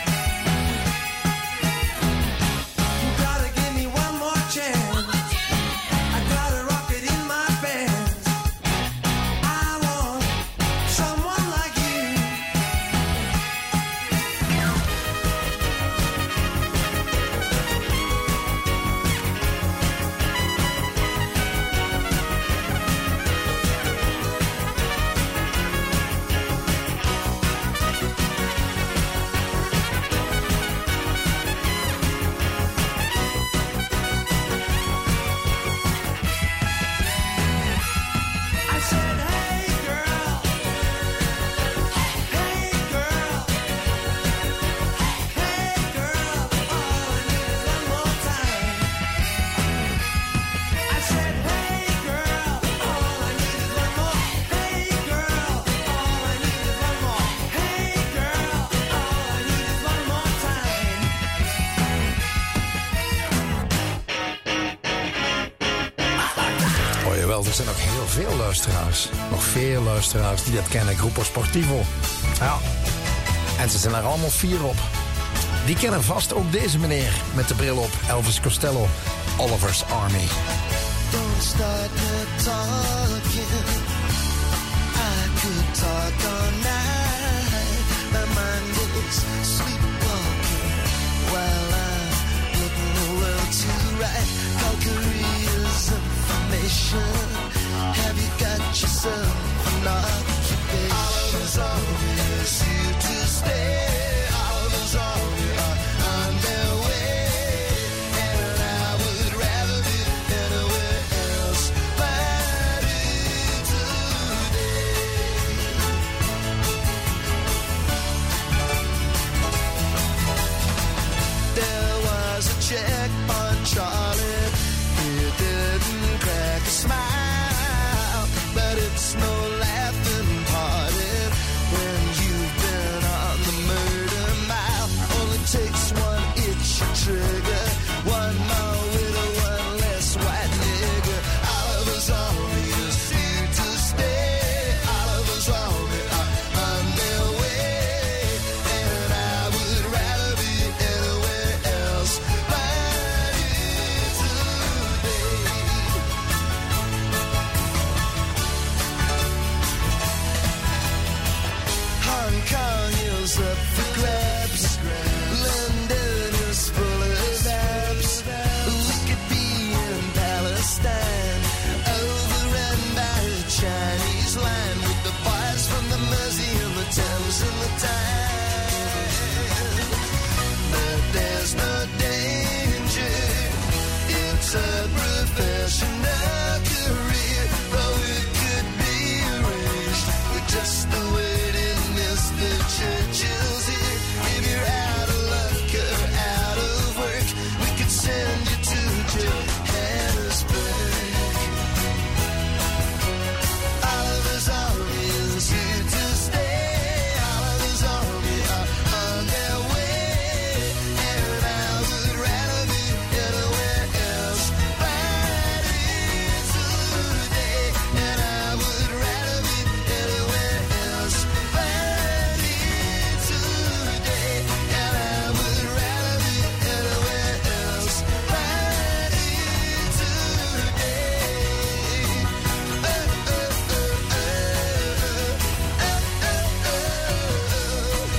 You gotta give me one more chance. I got a rocket in my pants. I want someone like you. I said hey girl, hey girl, hey girl, all I need is one more time. I said hey girl, all I need is one more. Hey girl, all I need is one more. Hey girl, all I need is one more time. Oh jawel, er zijn nog heel veel luisteraars. Nog veel luisteraars die dat kennen. Gruppo Sportivo. Ja. En ze zijn er allemaal 4 op. Die kennen vast ook deze meneer met de bril op. Elvis Costello. Oliver's Army. Don't start the talking. I could talk all night. My mind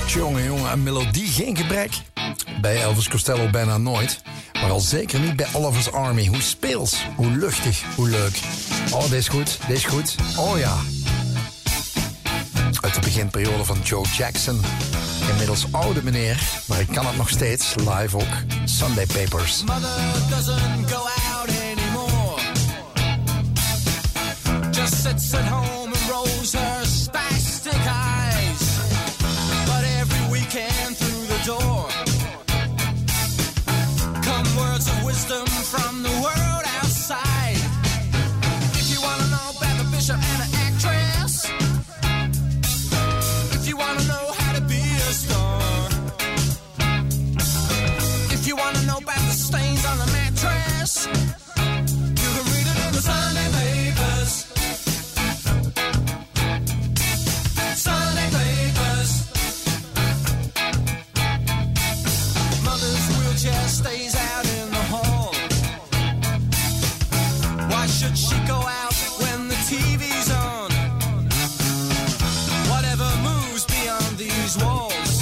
Jongen, een melodie geen gebrek. Bij Elvis Costello bijna nooit. Maar al zeker niet bij Oliver's Army. Hoe speels, hoe luchtig, hoe leuk. Oh, deze is goed. Oh ja. Uit de beginperiode van Joe Jackson. Inmiddels oude meneer, maar ik kan het nog steeds. Live ook. Sunday Papers. Mother doesn't go out anymore. Just sits at home and rolls her spastic eyes. But every weekend through the door come words of wisdom from the world outside. If you want to know about the bishop and the actress, if you want to know how to be a star, if you want to know about the stains on the mattress, you can read it in the Sunday papers. Sunday papers. Mother's wheelchair stays out in the hall. Why should she go out when the TV's on? Whatever moves beyond these walls,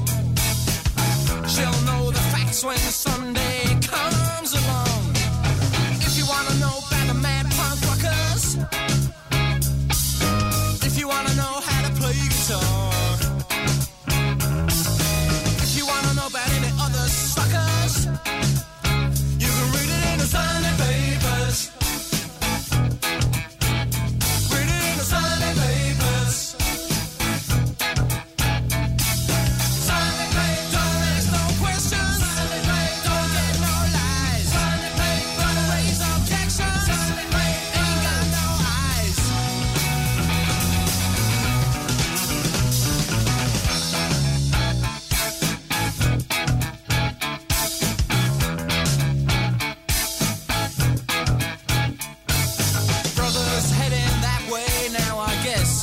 she'll know the facts when Sunday comes along. If you want to know about the mad punk rockers, if you want to know how to play guitar, if you want to know about any other suckers, you can read it in the Sunday papers. Read it in the Sunday papers. Sunday papers, don't ask no questions. Sunday papers, don't get no lies. Sunday papers, don't raise objections. Sunday papers, ain't got no eyes. Brother's heading that way now, I guess.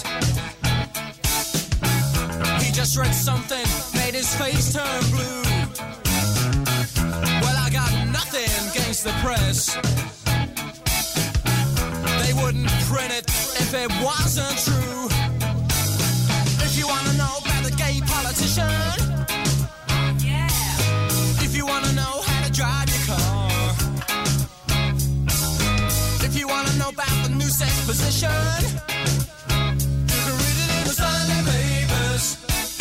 He just read something, made his face turn blue. Well, I got nothing against the press. They wouldn't print it if it wasn't true. If you want to know about the gay politician, if you want to know how to drive your car, if you want to know about the new sex position, you can read it in the Sunday papers.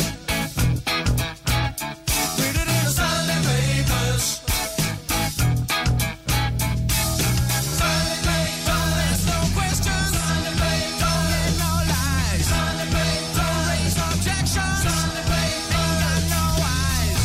Read it in the Sunday papers. Sunday papers, don't ask no questions. Sunday papers, don't get no lies. Sunday papers, don't raise objections. Sunday papers, ain't got no eyes.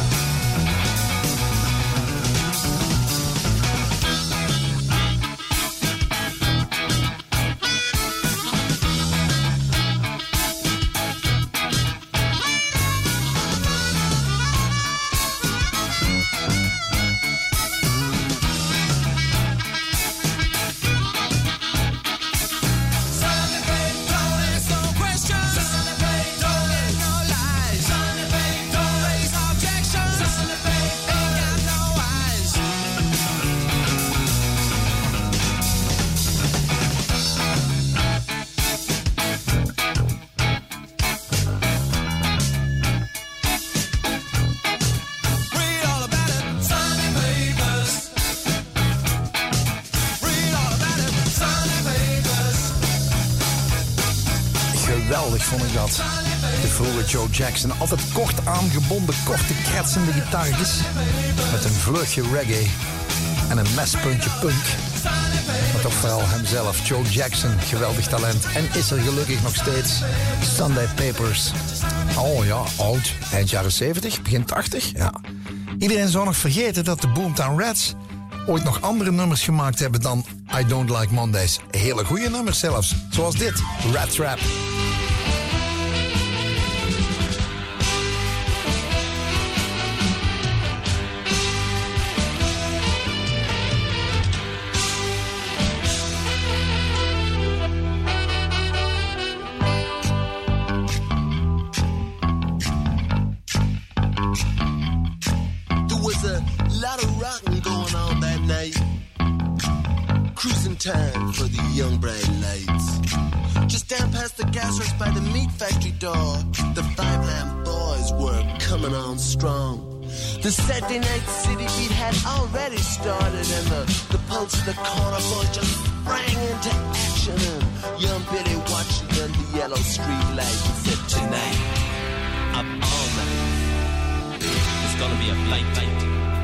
Sunday papers, don't ask no questions. Sunday papers, don't get no lies. Sunday papers, don't raise objections. Sunday papers, ain't got no eyes. Read all about it, Sunday papers. Read all about it, Sunday papers. Geweldig vond ik dat. De vroege Joe Jackson. Altijd kort aangebonden, korte, kretsende gitaartjes. Met een vleugje reggae. En een mespuntje punk. Maar toch vooral hemzelf, Joe Jackson. Geweldig talent. En is er gelukkig nog steeds. Sunday Papers. Oh ja, oud. Eind jaren 70, begin 80. Ja. Iedereen zou nog vergeten dat de Boomtown Rats ooit nog andere nummers gemaakt hebben dan I Don't Like Mondays. Hele goede nummers zelfs. Zoals dit, Rat Trap. There was a lot of rocking going on that night. Cruising time for the young bright lights. Just down past the gas works by the meat factory door. The Five Lamb Boys were coming on strong. The Saturday night city beat had already started, and the pulse of the corner boy just sprang into action. And young Billy watched it under the yellow street light and said, tonight, up all night, it's gonna be a blight night.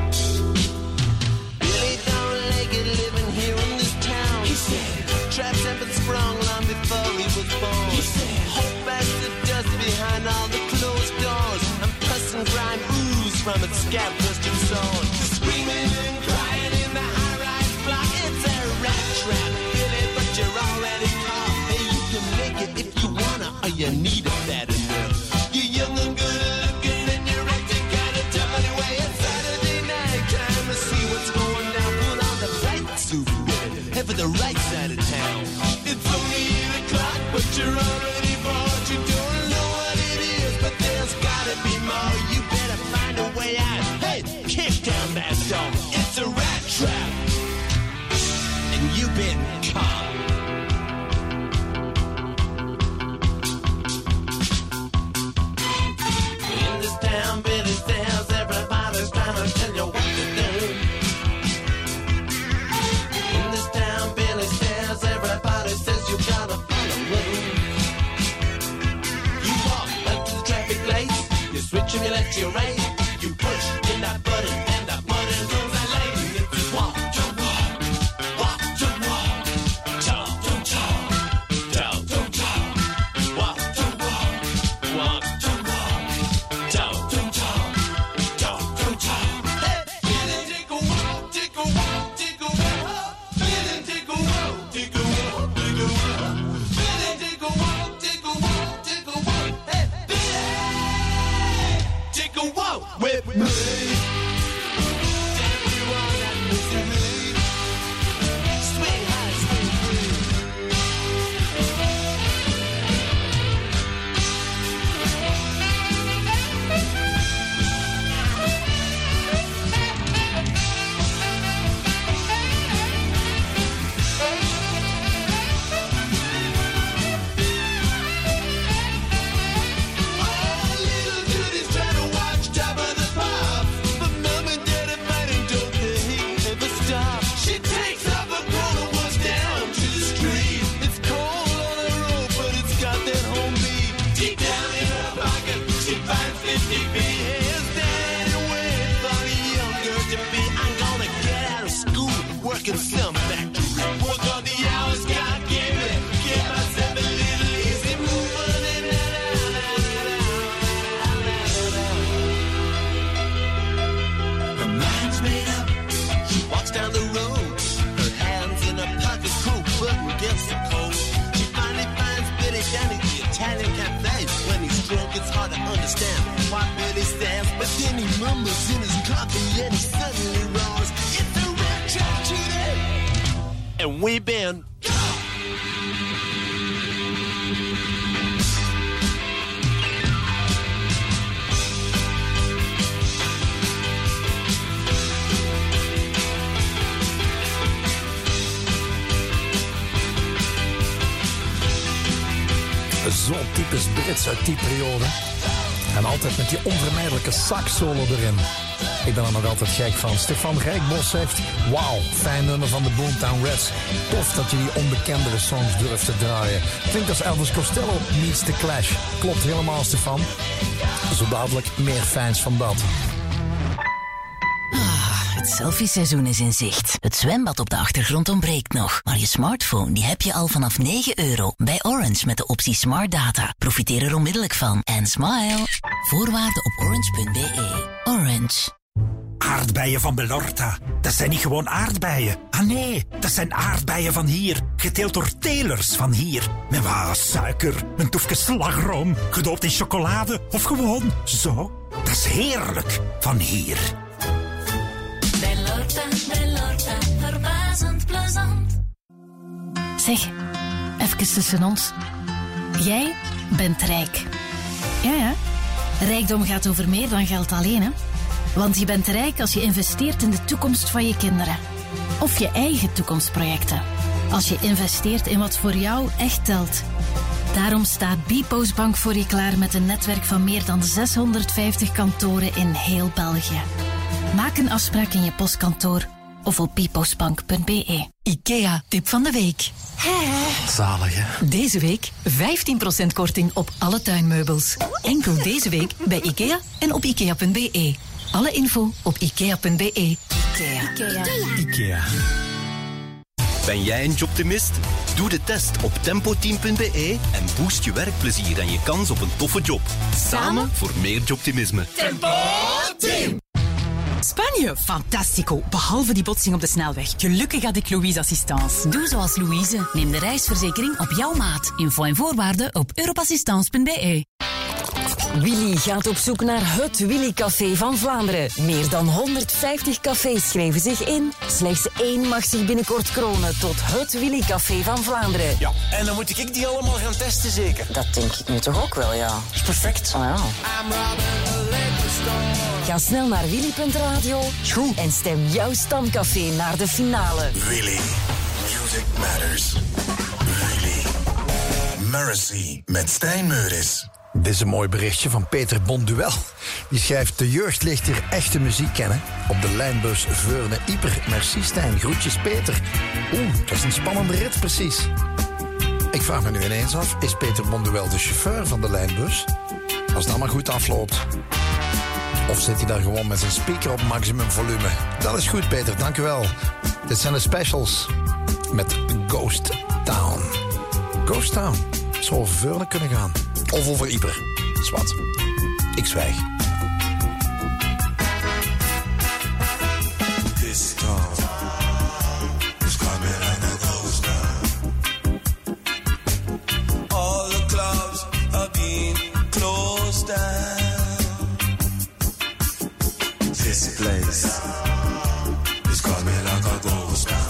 Billy don't like it living here in this town. He said, traps have been sprung long before he was born. He said, hope as the dust behind all the closed doors, and pus and grime ooze from its scab-busted sword. Screaming and crying in the high-rise block, it's a rat trap, Billy, but you're already caught. Hey, you can make it if you wanna, or you need it bad enough. You're young and good-looking, and you're acting kinda tough anyway. It's Saturday night, time to see what's going down. Put on the right suit, Billy, head for the right side of town. It's only 8 o'clock, but you're already bored. You don't know what it is, but there's gotta be more. You better find a way out. Hey, kick down that door. It's a rat trap, and you've been caught. In this town, Billy says everybody's trying to tell you what to do. In this town, Billy says everybody says you gotta follow rules. You walk up to the traffic lights, you switch and you let you right. You push in that button and that button goes that lane. It's walk to walk, walk to walk, talk to talk, talk to talk, walk to walk, walk to walk, talk to talk, talk to talk. Hey, Billy, take a walk, take a walk, take a walk. Billy, take a walk, take a walk, take a walk. Billy, take a walk, take a walk, take a walk. Hey, Billy, take a walk with me. Some factory. Work on the hours, God give me. Get myself a little easy moving and her mind's made up. She walks down the road, her hands in her pocket, coat button against the cold. She finally finds Billy down at the Italian cafe. When he's drunk, it's hard to understand why Billy stands, but then he mumbles in his coffee and he suddenly roars. It's a red trap today. And we've been zo'n typisch Brits uit die periode. En altijd met die onvermijdelijke sax-solo erin. Ik ben er nog altijd gek van. Stefan Rijkbos zegt, wauw, fijn nummer van de Boomtown Rats. Tof dat je die onbekendere songs durft te draaien. Klinkt als Elvis Costello meets The Clash. Klopt helemaal, Stefan. Zo dadelijk meer fans van dat. Het selfie-seizoen is in zicht. Het zwembad op de achtergrond ontbreekt nog. Maar je smartphone die heb je al vanaf €9 bij Orange met de optie Smart Data. Profiteer er onmiddellijk van. En smile. Voorwaarden op orange.be. Orange. Aardbeien van Belorta. Dat zijn niet gewoon aardbeien. Ah nee, dat zijn aardbeien van hier. Geteeld door telers van hier. Met wat suiker, een toefje slagroom, gedoopt in chocolade of gewoon zo. Dat is heerlijk van hier. Belorta, verbazend plezant. Zeg, even tussen ons. Jij bent rijk. Ja. Rijkdom gaat over meer dan geld alleen, hè. Want je bent rijk als je investeert in de toekomst van je kinderen. Of je eigen toekomstprojecten. Als je investeert in wat voor jou echt telt. Daarom staat bpostbank voor je klaar met een netwerk van meer dan 650 kantoren in heel België. Maak een afspraak in je postkantoor of op bpostbank.be. IKEA, tip van de week. Zalig, hè? Deze week 15% korting op alle tuinmeubels. Enkel deze week bij IKEA en op ikea.be. Alle info op ikea.be. IKEA. Ben jij een jobtimist? Doe de test op tempoteam.be en boost je werkplezier en je kans op een toffe job. Samen voor meer jobtimisme. Tempo Team! Spanje, fantastico. Behalve die botsing op de snelweg. Gelukkig had ik Louise Assistance. Doe zoals Louise. Neem de reisverzekering op jouw maat. Info en voorwaarden op europassistance.be. Willy gaat op zoek naar het Willy Café van Vlaanderen. Meer dan 150 cafés schrijven zich in. Slechts 1 mag zich binnenkort kronen tot het Willy Café van Vlaanderen. Ja, en dan moet ik die allemaal gaan testen, zeker? Dat denk ik nu toch ook wel, ja. Dat is perfect. Oh, ja. Ga snel naar willy.radio en stem jouw stamcafé naar de finale. Willy. Music Matters. Willy. Mercy met Stijn Meuris. Dit is een mooi berichtje van Peter Bonduel. Die schrijft: de jeugd leert hier echte muziek kennen. Op de lijnbus Veurne-Ieper. Merci Stijn, groetjes Peter. Dat is een spannende rit precies. Ik vraag me nu ineens af, is Peter Bonduel de chauffeur van de lijnbus? Als het allemaal goed afloopt. Of zit hij daar gewoon met zijn speaker op maximum volume? Dat is goed Peter, dank u wel. Dit zijn de specials met Ghost Town. Ghost Town zou over Veurne kunnen gaan. Of over Ieper. Zwat. Ik zwijg. This town is coming like a ghost town. All the clubs have been closed down. This place is coming like a ghost town.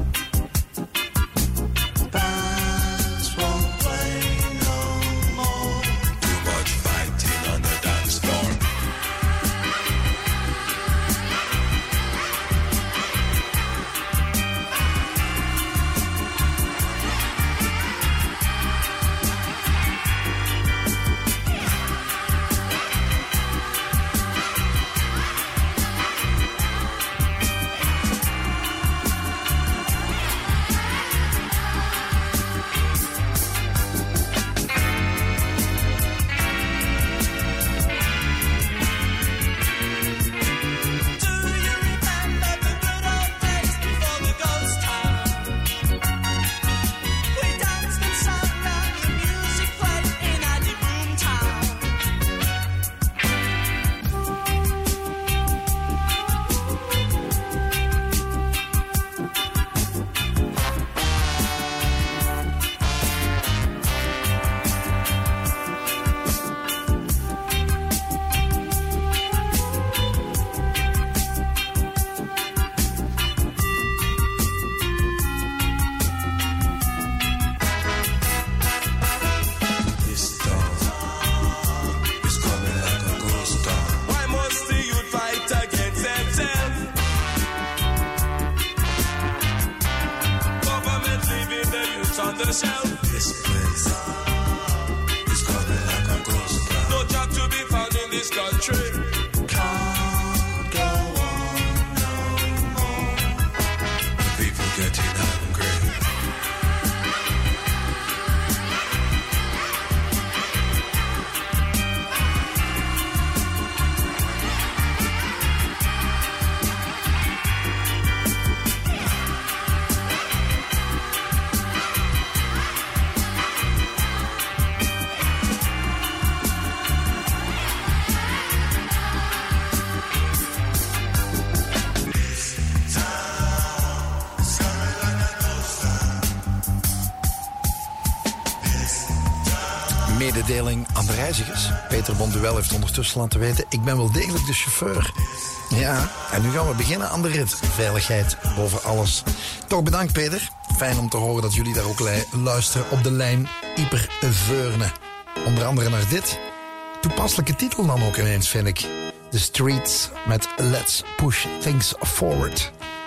Mededeling aan de reizigers. Peter Bonduel heeft ondertussen laten weten: ik ben wel degelijk de chauffeur. Ja, en nu gaan we beginnen aan de rit. Veiligheid boven alles. Toch bedankt Peter. Fijn om te horen dat jullie daar ook luisteren op de lijn Ieper-Veurne. Onder andere naar dit. Toepasselijke titel dan ook ineens, vind ik. The Streets met Let's Push Things Forward.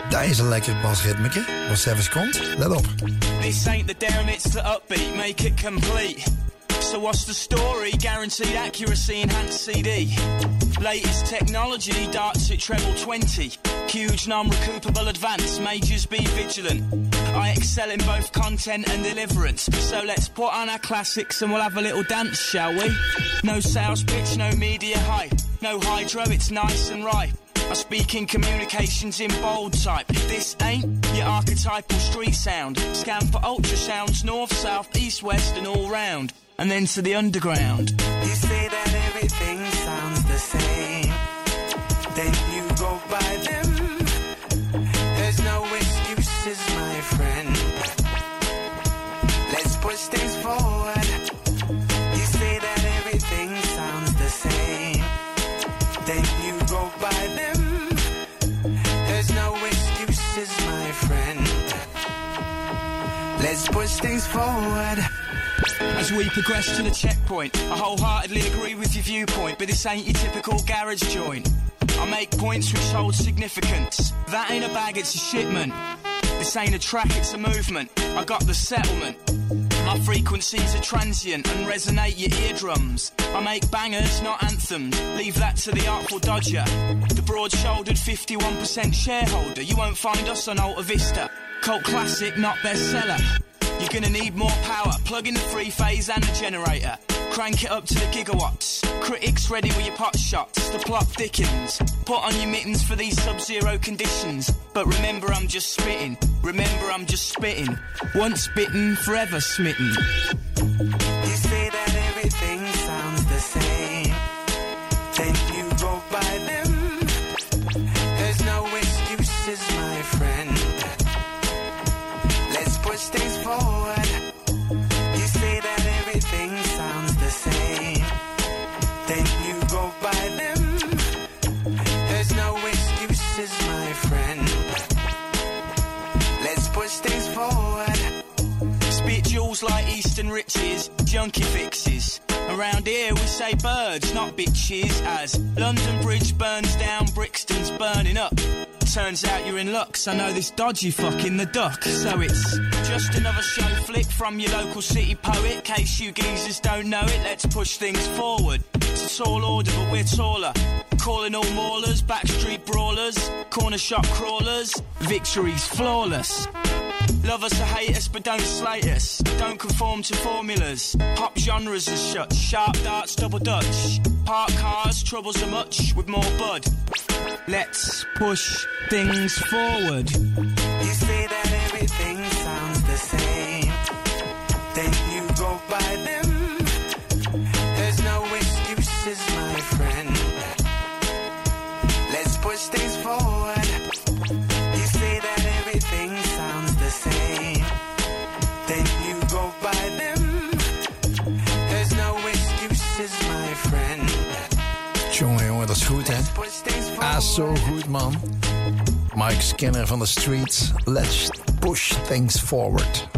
Dat is een lekker basritmeke. Wat zelfs komt, let op. This ain't the down, it's the upbeat, make it complete. So what's the story? Guaranteed accuracy, enhanced CD. Latest technology, darts at treble 20. Huge non-recoupable advance, majors be vigilant. I excel in both content and deliverance. So let's put on our classics and we'll have a little dance, shall we? No sales pitch, no media hype. No hydro, it's nice and ripe. I speak in communications in bold type. This ain't your archetypal street sound. Scan for ultrasounds, north, south, east, west and all round. And then to the underground. You say that everything sounds the same, then you go by them. There's no excuses, my friend. Let's push things forward. You say that everything sounds the same, then you go by them. There's no excuses, my friend. Let's push things forward. As we progress to the checkpoint, I wholeheartedly agree with your viewpoint, but this ain't your typical garage joint. I make points which hold significance. That ain't a bag, it's a shipment. This ain't a track, it's a movement. I got the settlement. My frequencies are transient and resonate your eardrums. I make bangers, not anthems. Leave that to the Artful Dodger. The broad-shouldered 51% shareholder. You won't find us on Alta Vista. Cult classic, not bestseller. You're gonna need more power. Plug in the three-phase and the generator. Crank it up to the gigawatts. Critics ready with your pot shots. The plot thickens. Put on your mittens for these sub-zero conditions. But remember I'm just spitting. Remember I'm just spitting. Once bitten, forever smitten. You say that everything sounds the same, then you go by them. There's no excuses, my friend. Let's push things forward. You say that everything sounds the same, then you go by them. There's no excuses, my friend. Let's push things forward. Spit jewels like Eastern riches, junkie fixes. Around here we say birds, not bitches. As London Bridge burns down, Brixton's burning up. Turns out you're in luck, so I know this dodgy fuck in the duck. So it's just another show flick from your local city poet. Case you geezers don't know it, let's push things forward. It's a tall order, but we're taller. Calling all maulers, backstreet brawlers, corner shop crawlers. Victory's flawless. Love us or hate us, but don't slate us. Don't conform to formulas. Pop genres are shut. Sharp darts, double dutch. Park cars, troubles are much with more bud. Let's push things forward. You say that everything sounds the same, then you go by them. There's no excuses, my friend. Let's push things forward. You say that everything sounds the same, then you go by them. There's no excuses, my friend. Jongen, dat is goed, hè? Ah, zo goed, man. Mike Skinner van de Streets. Let's push things forward.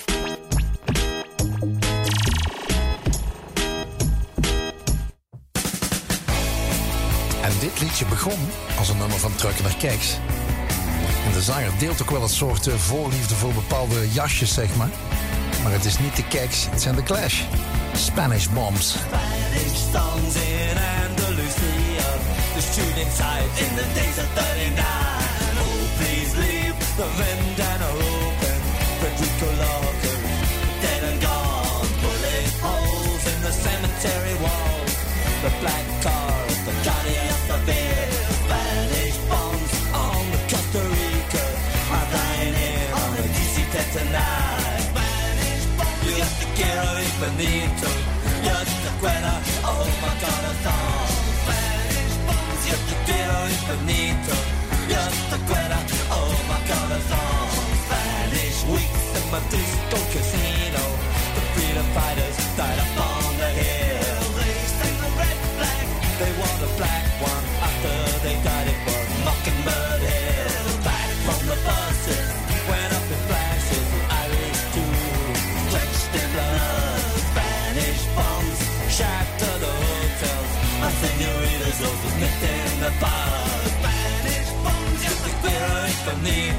En dit liedje begon als een nummer van Trucker naar Keks. En de zanger deelt ook wel een soort voorliefde voor bepaalde jasjes, zeg maar. Maar het is niet de Keks, het zijn de Clash. Spanish Bombs. Spanish songs in Andalusia. The shooting tides in the days of 39. Oh, please leave the vendana open. Federico Locker, dead and gone. Bullet holes in the cemetery walls. The black car, the Johnny of the beer. Spanish bombs on the Costa Rica. I'm flying in on the DC-10 tonight. Spanish bombs, yo te quiero infinito. Yo te quiero, oh my God, a song. Spanish bombs, yo te quiero infinito. Yo te quiero, oh my God, a song. Spanish weeks in my disco casino. The freedom fighters died up on the hill. They sang the red flag. They wore the black one after they died it for Mockingbird Hill. Back from the buses, went up in flashes. Irish too, drenched in blood. Spanish bombs shattered the hotels. My senoritas, those was nipped in the bar. Spanish bombs, just the quiero infinito.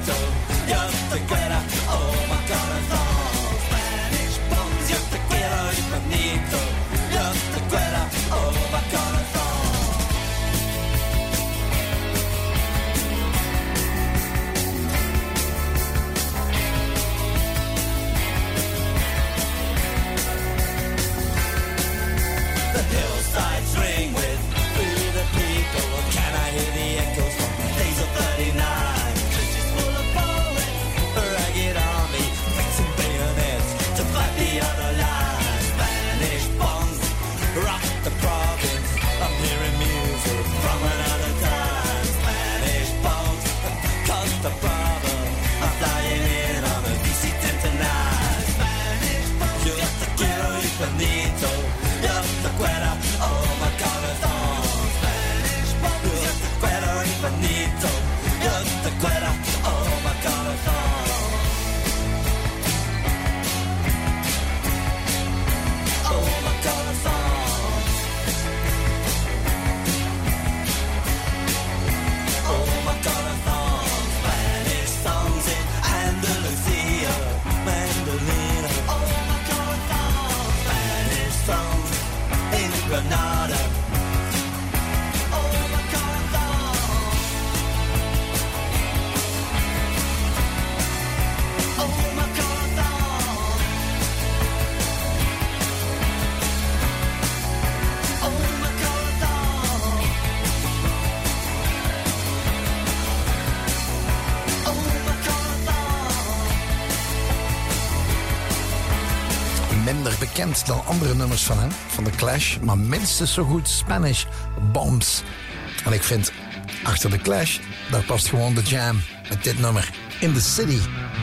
minder bekend dan andere nummers van hem, van The Clash, maar minstens zo goed Spanish Bombs. En ik vind, achter The Clash, daar past gewoon The Jam met dit nummer, In the City.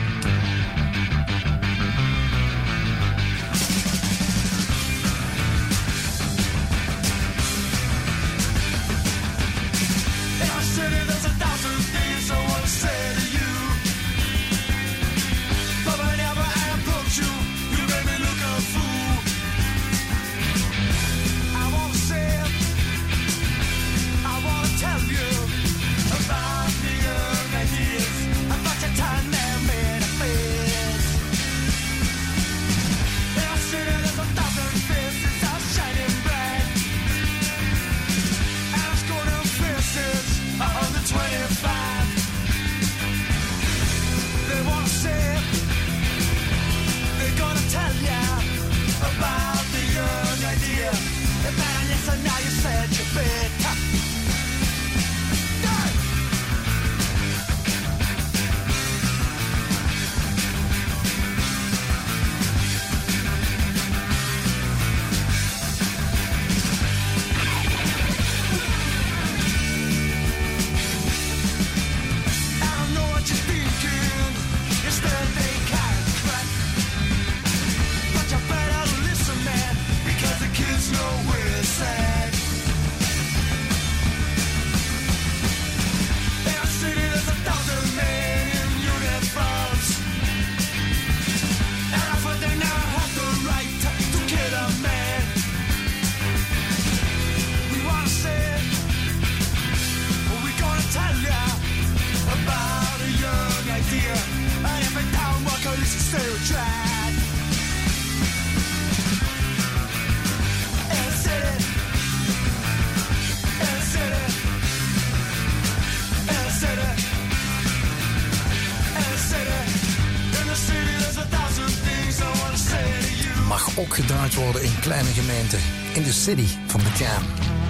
Ook gedraaid worden in kleine gemeenten. In de city van The Jam.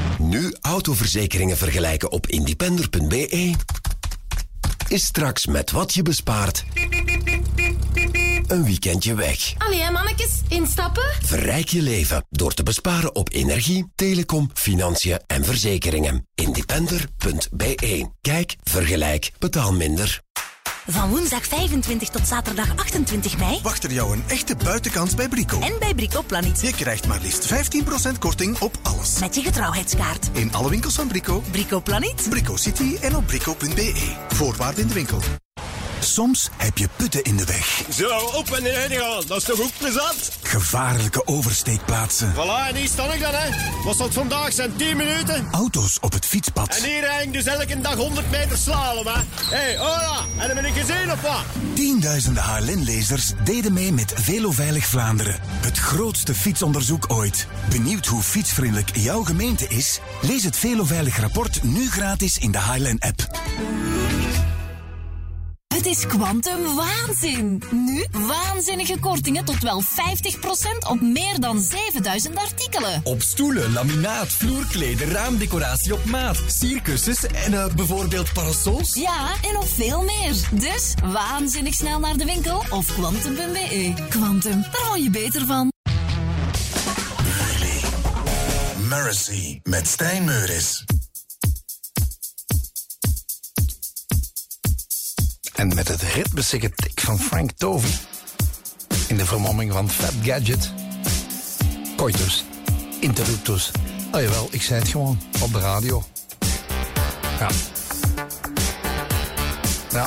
Nu autoverzekeringen vergelijken op independer.be. Is straks met wat je bespaart een weekendje weg. Allee, mannetjes, instappen? Verrijk je leven door te besparen op energie, telecom, financiën en verzekeringen. Independer.be. Kijk, vergelijk, betaal minder. Van woensdag 25 tot zaterdag 28 mei... wacht er jou een echte buitenkans bij Brico. En bij Brico Planet. Je krijgt maar liefst 15% korting op alles. Met je getrouwheidskaart. In alle winkels van Brico. Brico Planet. Brico City en op brico.be. Voorwaarden in de winkel. Soms heb je putten in de weg. Zo, op en neer gaan. Dat is toch ook plezant? Gevaarlijke oversteekplaatsen. Voilà, en hier sta ik dan, hè. Wat zal het vandaag zijn? 10 minuten? Auto's op het fietspad. En hier rijd ik dus elke dag 100 meter slalom, hè. Hé, hola. En dan ben ik gezien of wat? Tienduizenden HLN-lezers deden mee met Veloveilig Vlaanderen. Het grootste fietsonderzoek ooit. Benieuwd hoe fietsvriendelijk jouw gemeente is? Lees het Veloveilig rapport nu gratis in de HLN-app. Het is Quantum waanzin. Nu waanzinnige kortingen tot wel 50% op meer dan 7000 artikelen. Op stoelen, laminaat, vloerkleden, raamdecoratie op maat, sierkussens en bijvoorbeeld parasols. Ja, en nog veel meer. Dus waanzinnig snel naar de winkel of quantum.be. Quantum, daar word je beter van. Really? Mercy met Stijn Meuris. En met het ritmesige tik van Frank Tovey. In de vermomming van Fat Gadget. Coitus. Interruptus. Oh jawel, ik zei het gewoon. Op de radio. Ja. Ja.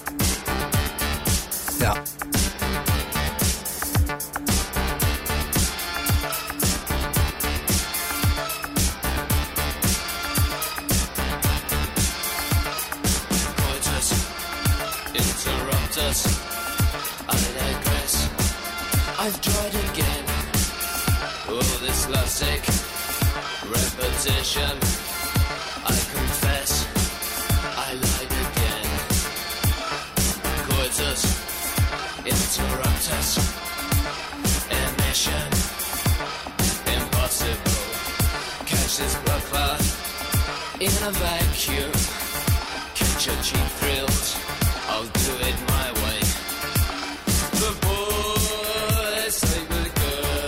Ja. I digress. I've tried again. Oh, this lovesick repetition. I confess, I lied again. Coitus interruptus. Emission impossible. Catch this buckler in a vacuum. Catch your cheap thrills. I'll do it my way. The boys sleep with girls.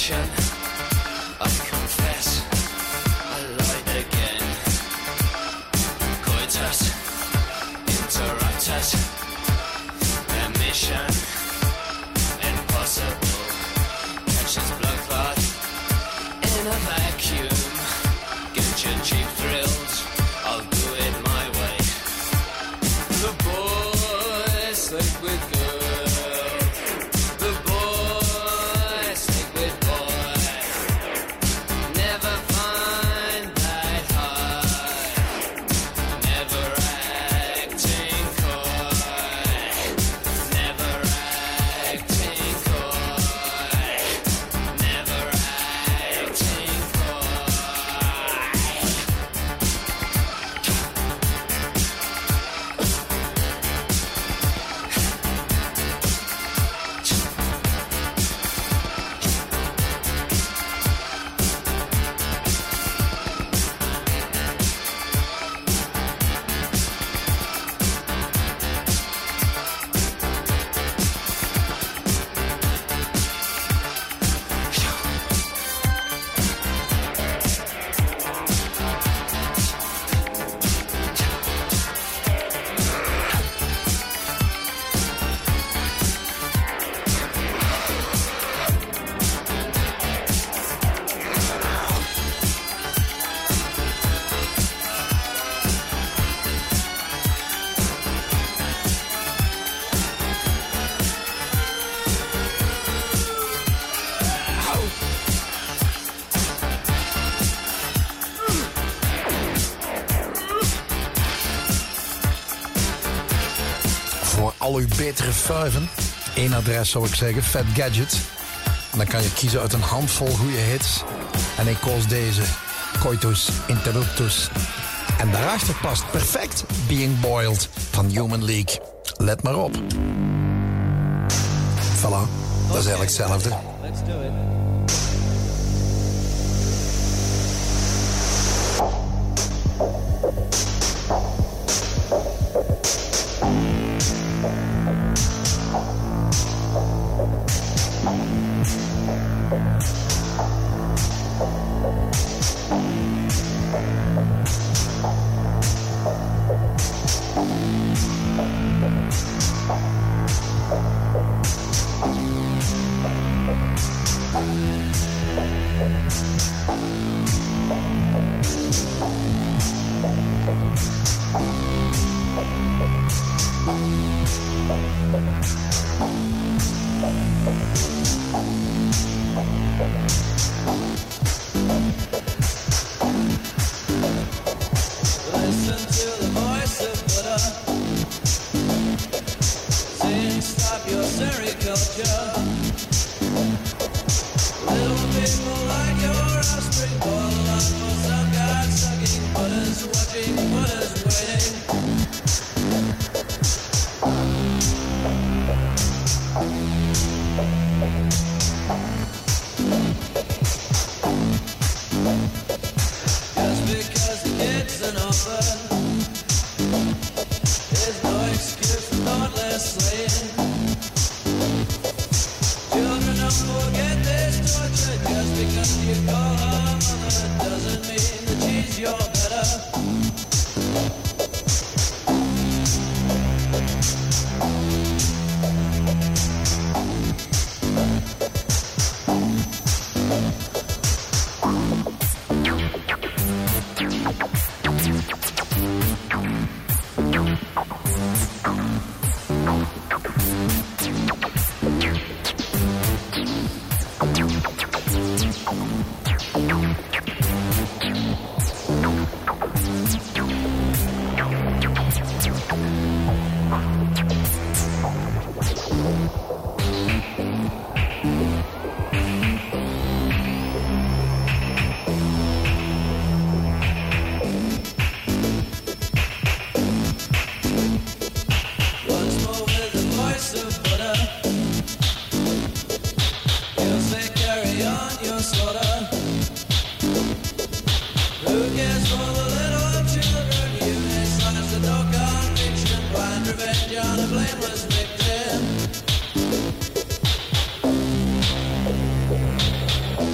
addiction. I confess, I lied again. Coitus, interruptus, permission, impossible. Catches blood clot in a vacuum. Get your cheap thrills, I'll do it my way. The boys sleep with girls. The boys sleep with boys. Never find that high. Never acting coy. Never acting coy. Never acting coy. Voor al uw betere fuiven, één adres zou ik zeggen, Fat Gadget. En dan kan je kiezen uit een handvol goede hits. En ik koos deze, Coitus Interruptus. En daarachter past perfect Being Boiled van Human League. Let maar op. Voilà, dat is eigenlijk hetzelfde. Let's do it. Listen to the voice of Buddha. Sing, stop your sericulture. Little people like your offspring boil up for some god sucking Buddha's watching, Buddha's waiting. Just because the kid's an orphan, there's no excuse for thoughtless slaying. Children don't forget this torture. Just because you call her mother doesn't mean that she's your better. Once more with the voice of Buddha, he'll say carry on your slaughter. Who cares for the little children? You may slice the no conviction, blind revenge on a blameless victim.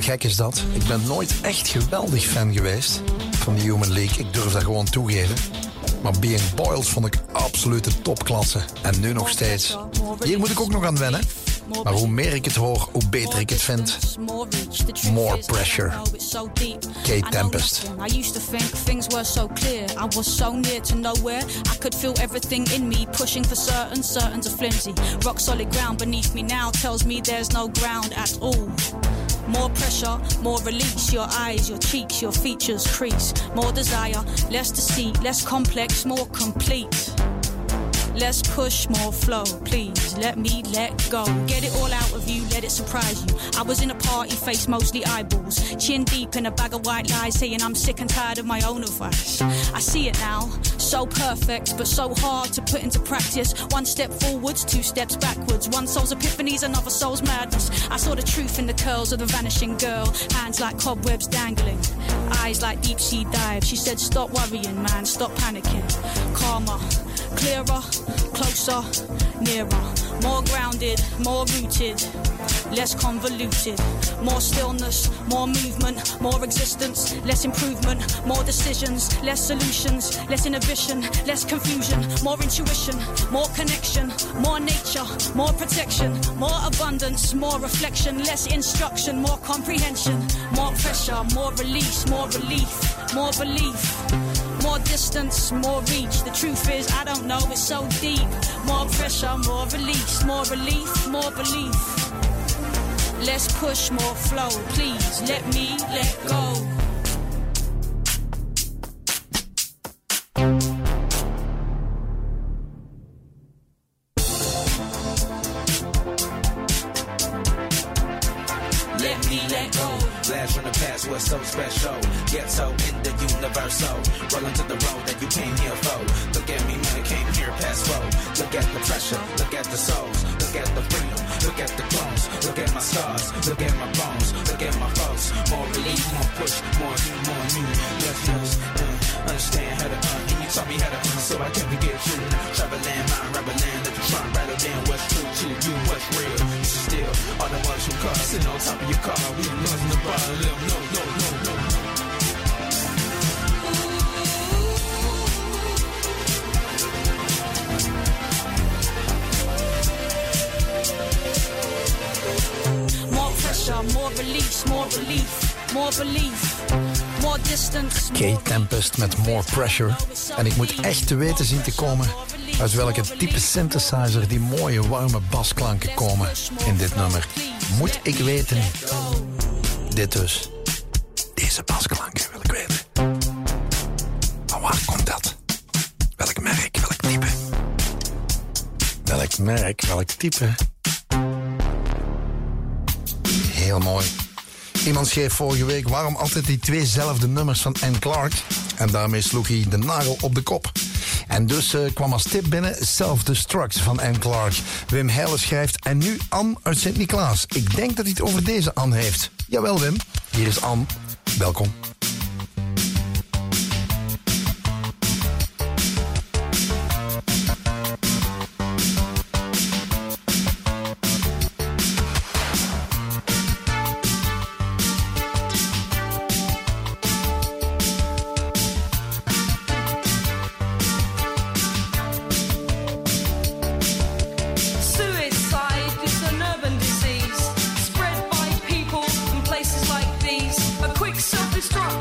gek is dat. Ik ben nooit echt geweldig fan geweest van die Human League. Ik durf dat gewoon toegeven. Maar Being Boils vond ik absolute topklasse. En nu nog steeds. Hier moet ik ook nog aan wennen. Maar hoe meer ik het hoor, hoe beter ik het vind. More Pressure. Kate Tempest. I used to think things were so clear. I was so near to nowhere. I could feel everything in me pushing for certain to flimsy. Rock solid ground beneath me now tells me there's no ground at all. More pressure, more release. Your eyes, your cheeks, your features crease. More desire, less deceit, less complex, more complete. Less push, more flow, please let me let go. Get it all out of you, let it surprise you. I was in a party, face mostly eyeballs. Chin deep in a bag of white lies, saying I'm sick and tired of my own advice. I see it now, so perfect, but so hard to put into practice. One step forwards, two steps backwards. One soul's epiphanies, another soul's madness. I saw the truth in the curls of the vanishing girl. Hands like cobwebs dangling, eyes like deep sea dives. She said stop worrying, man, stop panicking. Calmer, clearer, closer, nearer. More grounded, more rooted, less convoluted. More stillness, more movement, more existence, less improvement. More decisions, less solutions, less inhibition, less confusion. More intuition, more connection, more nature, more protection. More abundance, more reflection, less instruction, more comprehension. More pressure, more release, more relief, more belief. More distance, more reach. The truth is, I don't know, it's so deep. More pressure, more release, more relief, more belief. Less push, more flow. Please let me let go. Let me let go. Blast from the past was so special. Ghetto in the universal. Rolling to the road that you came here for. Look at me, man, I came here past four. Look at the pressure, look at the souls. Look at the freedom, look at the clones. Look at my scars, look at my bones. Look at my folks. More relief, more push, more you, more you. Yes, understand how to and you taught me how to so I can forget you. Traveling, mind, rebelling, let you try and rattle down what's true to you, what's real. You still are the ones who call, sitting on top of your car. We losing the bar, no. More pressure, more release, more relief, more belief. More distance. Kate Tempest met More Pressure. En ik moet echt te weten zien te komen uit welke type synthesizer die mooie warme basklanken komen in dit nummer. Moet ik weten. Dit dus. Deze basklanken wil ik weten. Maar waar komt dat? Welk merk, welk type? Welk merk, welk type? Heel mooi. Iemand schreef vorige week waarom altijd die tweezelfde nummers van Anne Clark. En daarmee sloeg hij de nagel op de kop. En dus kwam als tip binnen Self-Destruct van Anne Clark. Wim Heijlen schrijft en nu Anne uit Sint-Niklaas. Ik denk dat hij het over deze Anne heeft. Jawel Wim, hier is Anne. Welkom. Spread by people in places like these. A quick self-destruct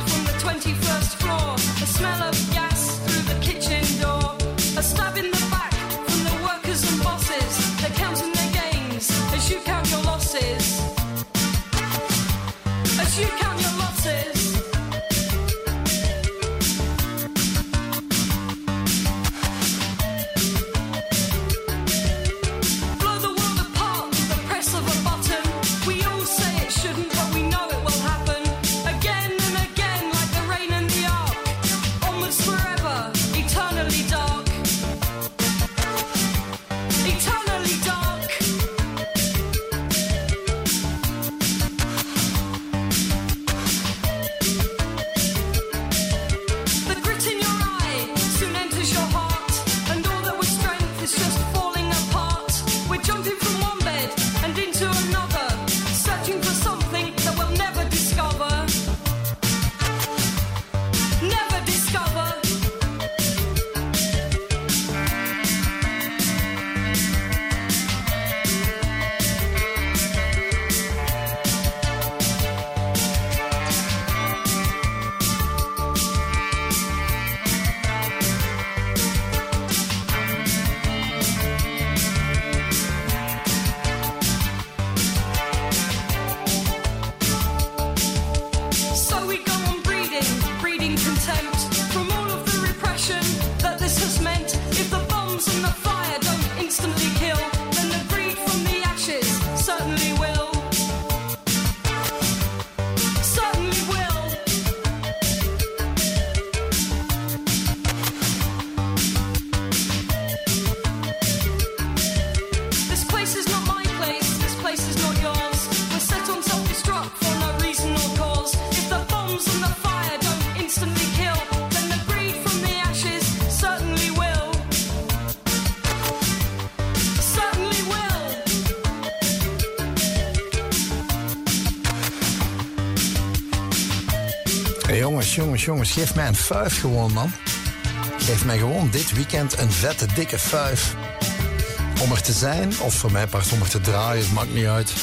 Jongens. Geef mij een fuif gewoon, man. Geef mij gewoon dit weekend een vette, dikke fuif. Om er te zijn, of voor mij part om er te draaien, het maakt niet uit.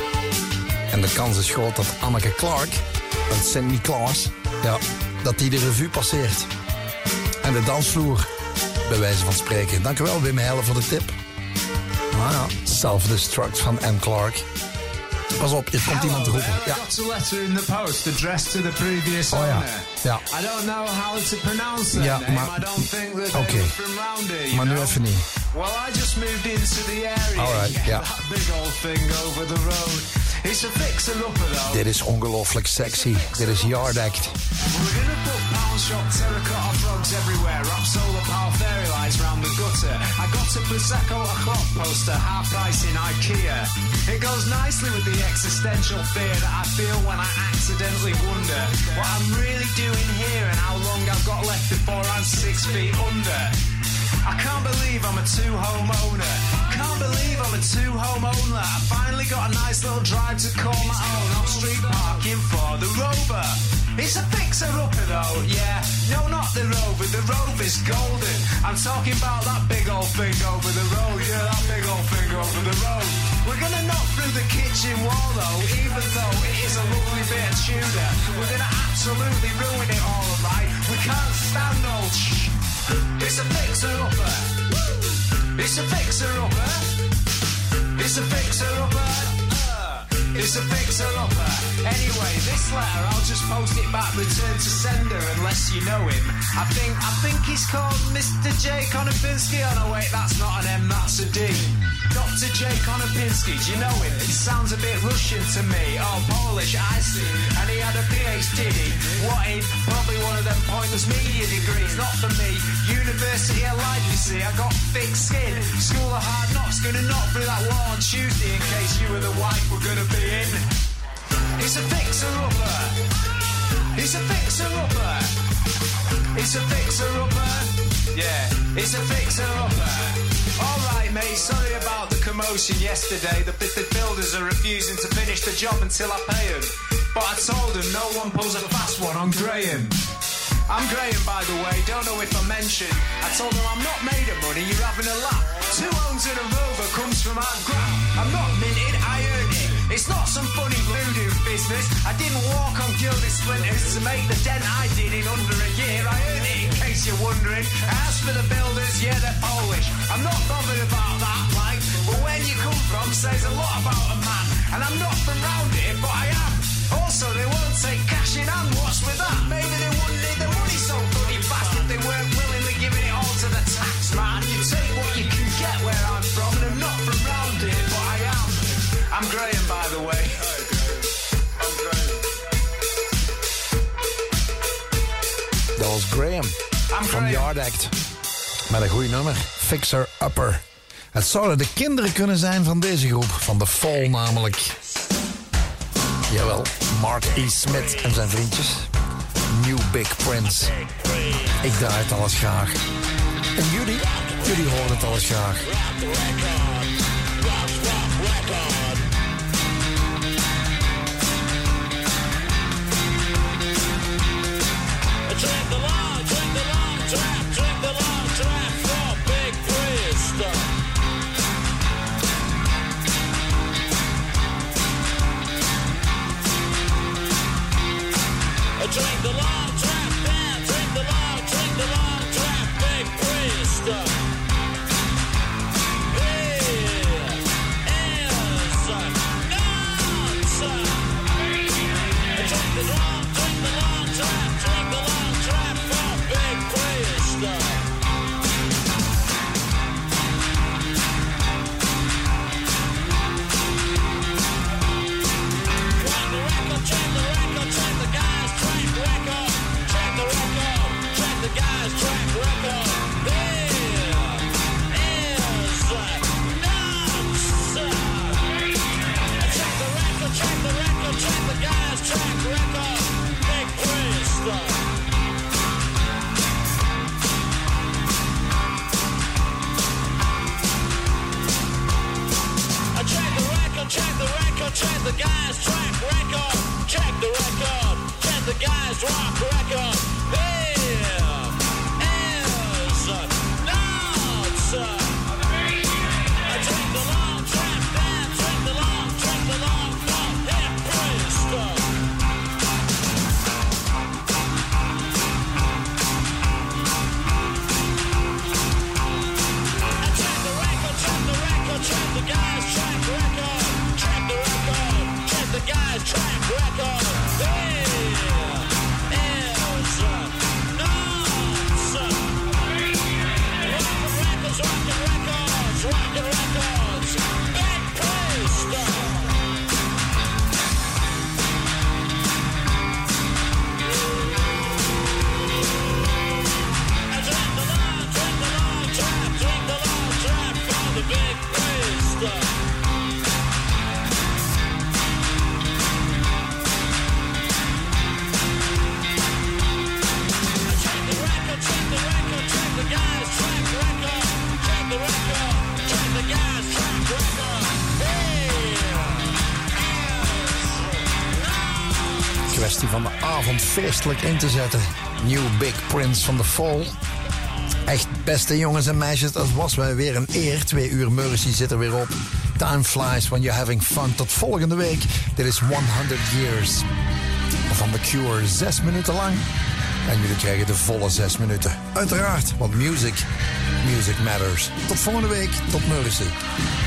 En de kans is groot dat Anneke Clark uit Sint-Niklaas, ja, dat die de revue passeert. En de dansvloer, bij wijze van spreken. Dankjewel, Wim Heijlen, voor de tip. Ah ja, Self-Destruct van Anne Clark. Pas op, je komt iemand roepen. Ja. I got a letter in the post addressed to the previous owner. Ja. I don't know how to pronounce that Ja, name. maar... I don't think that Oké. they were from round here, you Maar nu know? even niet. Well, I just moved into the area. Alright, ja. That big old thing over the road. It's a fixer-upper though. Dit is ongelooflijk sexy. Dit is Yard Act. We're gonna put pound shop terracotta frogs everywhere, wrap solar power fairy lights round the gutter. I got a Prosecco o'clock poster, half price in IKEA. It goes nicely with the existential fear that I feel when I accidentally wonder what I'm really doing here and how long I've got left before I'm 6 feet under. I can't believe I'm a two-home owner. Can't believe I'm a two-home owner. I finally got a nice little drive to call my own. Off-street parking for the Rover. It's a fixer-upper though, yeah. No, not the Rover. The Rover's golden. I'm talking about that big old thing over the road. Yeah, that big old thing over the road. We're gonna knock through the kitchen wall though, even though it is a lovely bit of Tudor. We're gonna absolutely ruin it all, right? We can't stand old It's a fixer-upper. It's a fixer-upper. It's a fixer-upper. It's a fixer-upper. Anyway, this letter, I'll just post it back, return to sender, unless you know him. I think he's called Mr. J. Konopinski. Oh no, wait, that's not an M, that's a D. Dr. J. Konopinski, do you know him? He sounds a bit Russian to me. Oh, Polish, I see. And he had a PhD. What in? Probably one of them pointless media degrees. Not for me. University of life, you see. I got thick skin. School of hard knocks. Gonna knock through that wall on Tuesday in case you and the wife were gonna be in. It's a fixer-upper. It's a fixer-upper. It's a fixer-upper. Yeah, it's a fixer-upper. Alright mate, sorry about the commotion yesterday. The builders are refusing to finish the job until I pay them. But I told them no one pulls a fast one on Graham. I'm Graham, by the way, don't know if I mentioned. I told them I'm not made of money, you're having a laugh. 2 homes and a Rover comes from our ground. I'm not minted, I earned it. It's not some funny voodoo business. I didn't walk on gilded splinters to make the dent I did in under a year. I earned it, in case you're wondering. As for the builders, yeah, they're Polish. I'm not bothered about that, like, but where you come from says a lot about a man. And I'm not from round here, but I am. Also, they won't take cash in hand. What's with that? Maybe they wouldn't need the money so bloody fast if they weren't willingly giving it all to the tax man. You take what you can get where I'm from, and I'm not from round here, but I am. I'm Graham, by the way. I'm Graham. Dat was Graham van Yard Act. Met een goed nummer, Fixer Upper. Het zouden de kinderen kunnen zijn van deze groep, van The Fall namelijk. Jawel, Mark E. Smith en zijn vriendjes. New Big Prince. Ik draai het alles graag. En jullie horen het alles graag. Drink the long draft, drink the long draft for Big Prince. Drink the long draft, man. Drink the long draft, Big Prince. Hey, kwestie van de avond feestelijk in te zetten. New Big Prince van The Fall. Echt, beste jongens en meisjes, dat was wel weer een eer. 2 uur Mercy zit er weer op. Time flies when you're having fun. Tot volgende week. Dit is 100 Years van The Cure. 6 minuten lang. En jullie krijgen de volle 6 minuten. Uiteraard, want music matters. Tot volgende week. Tot Mercy.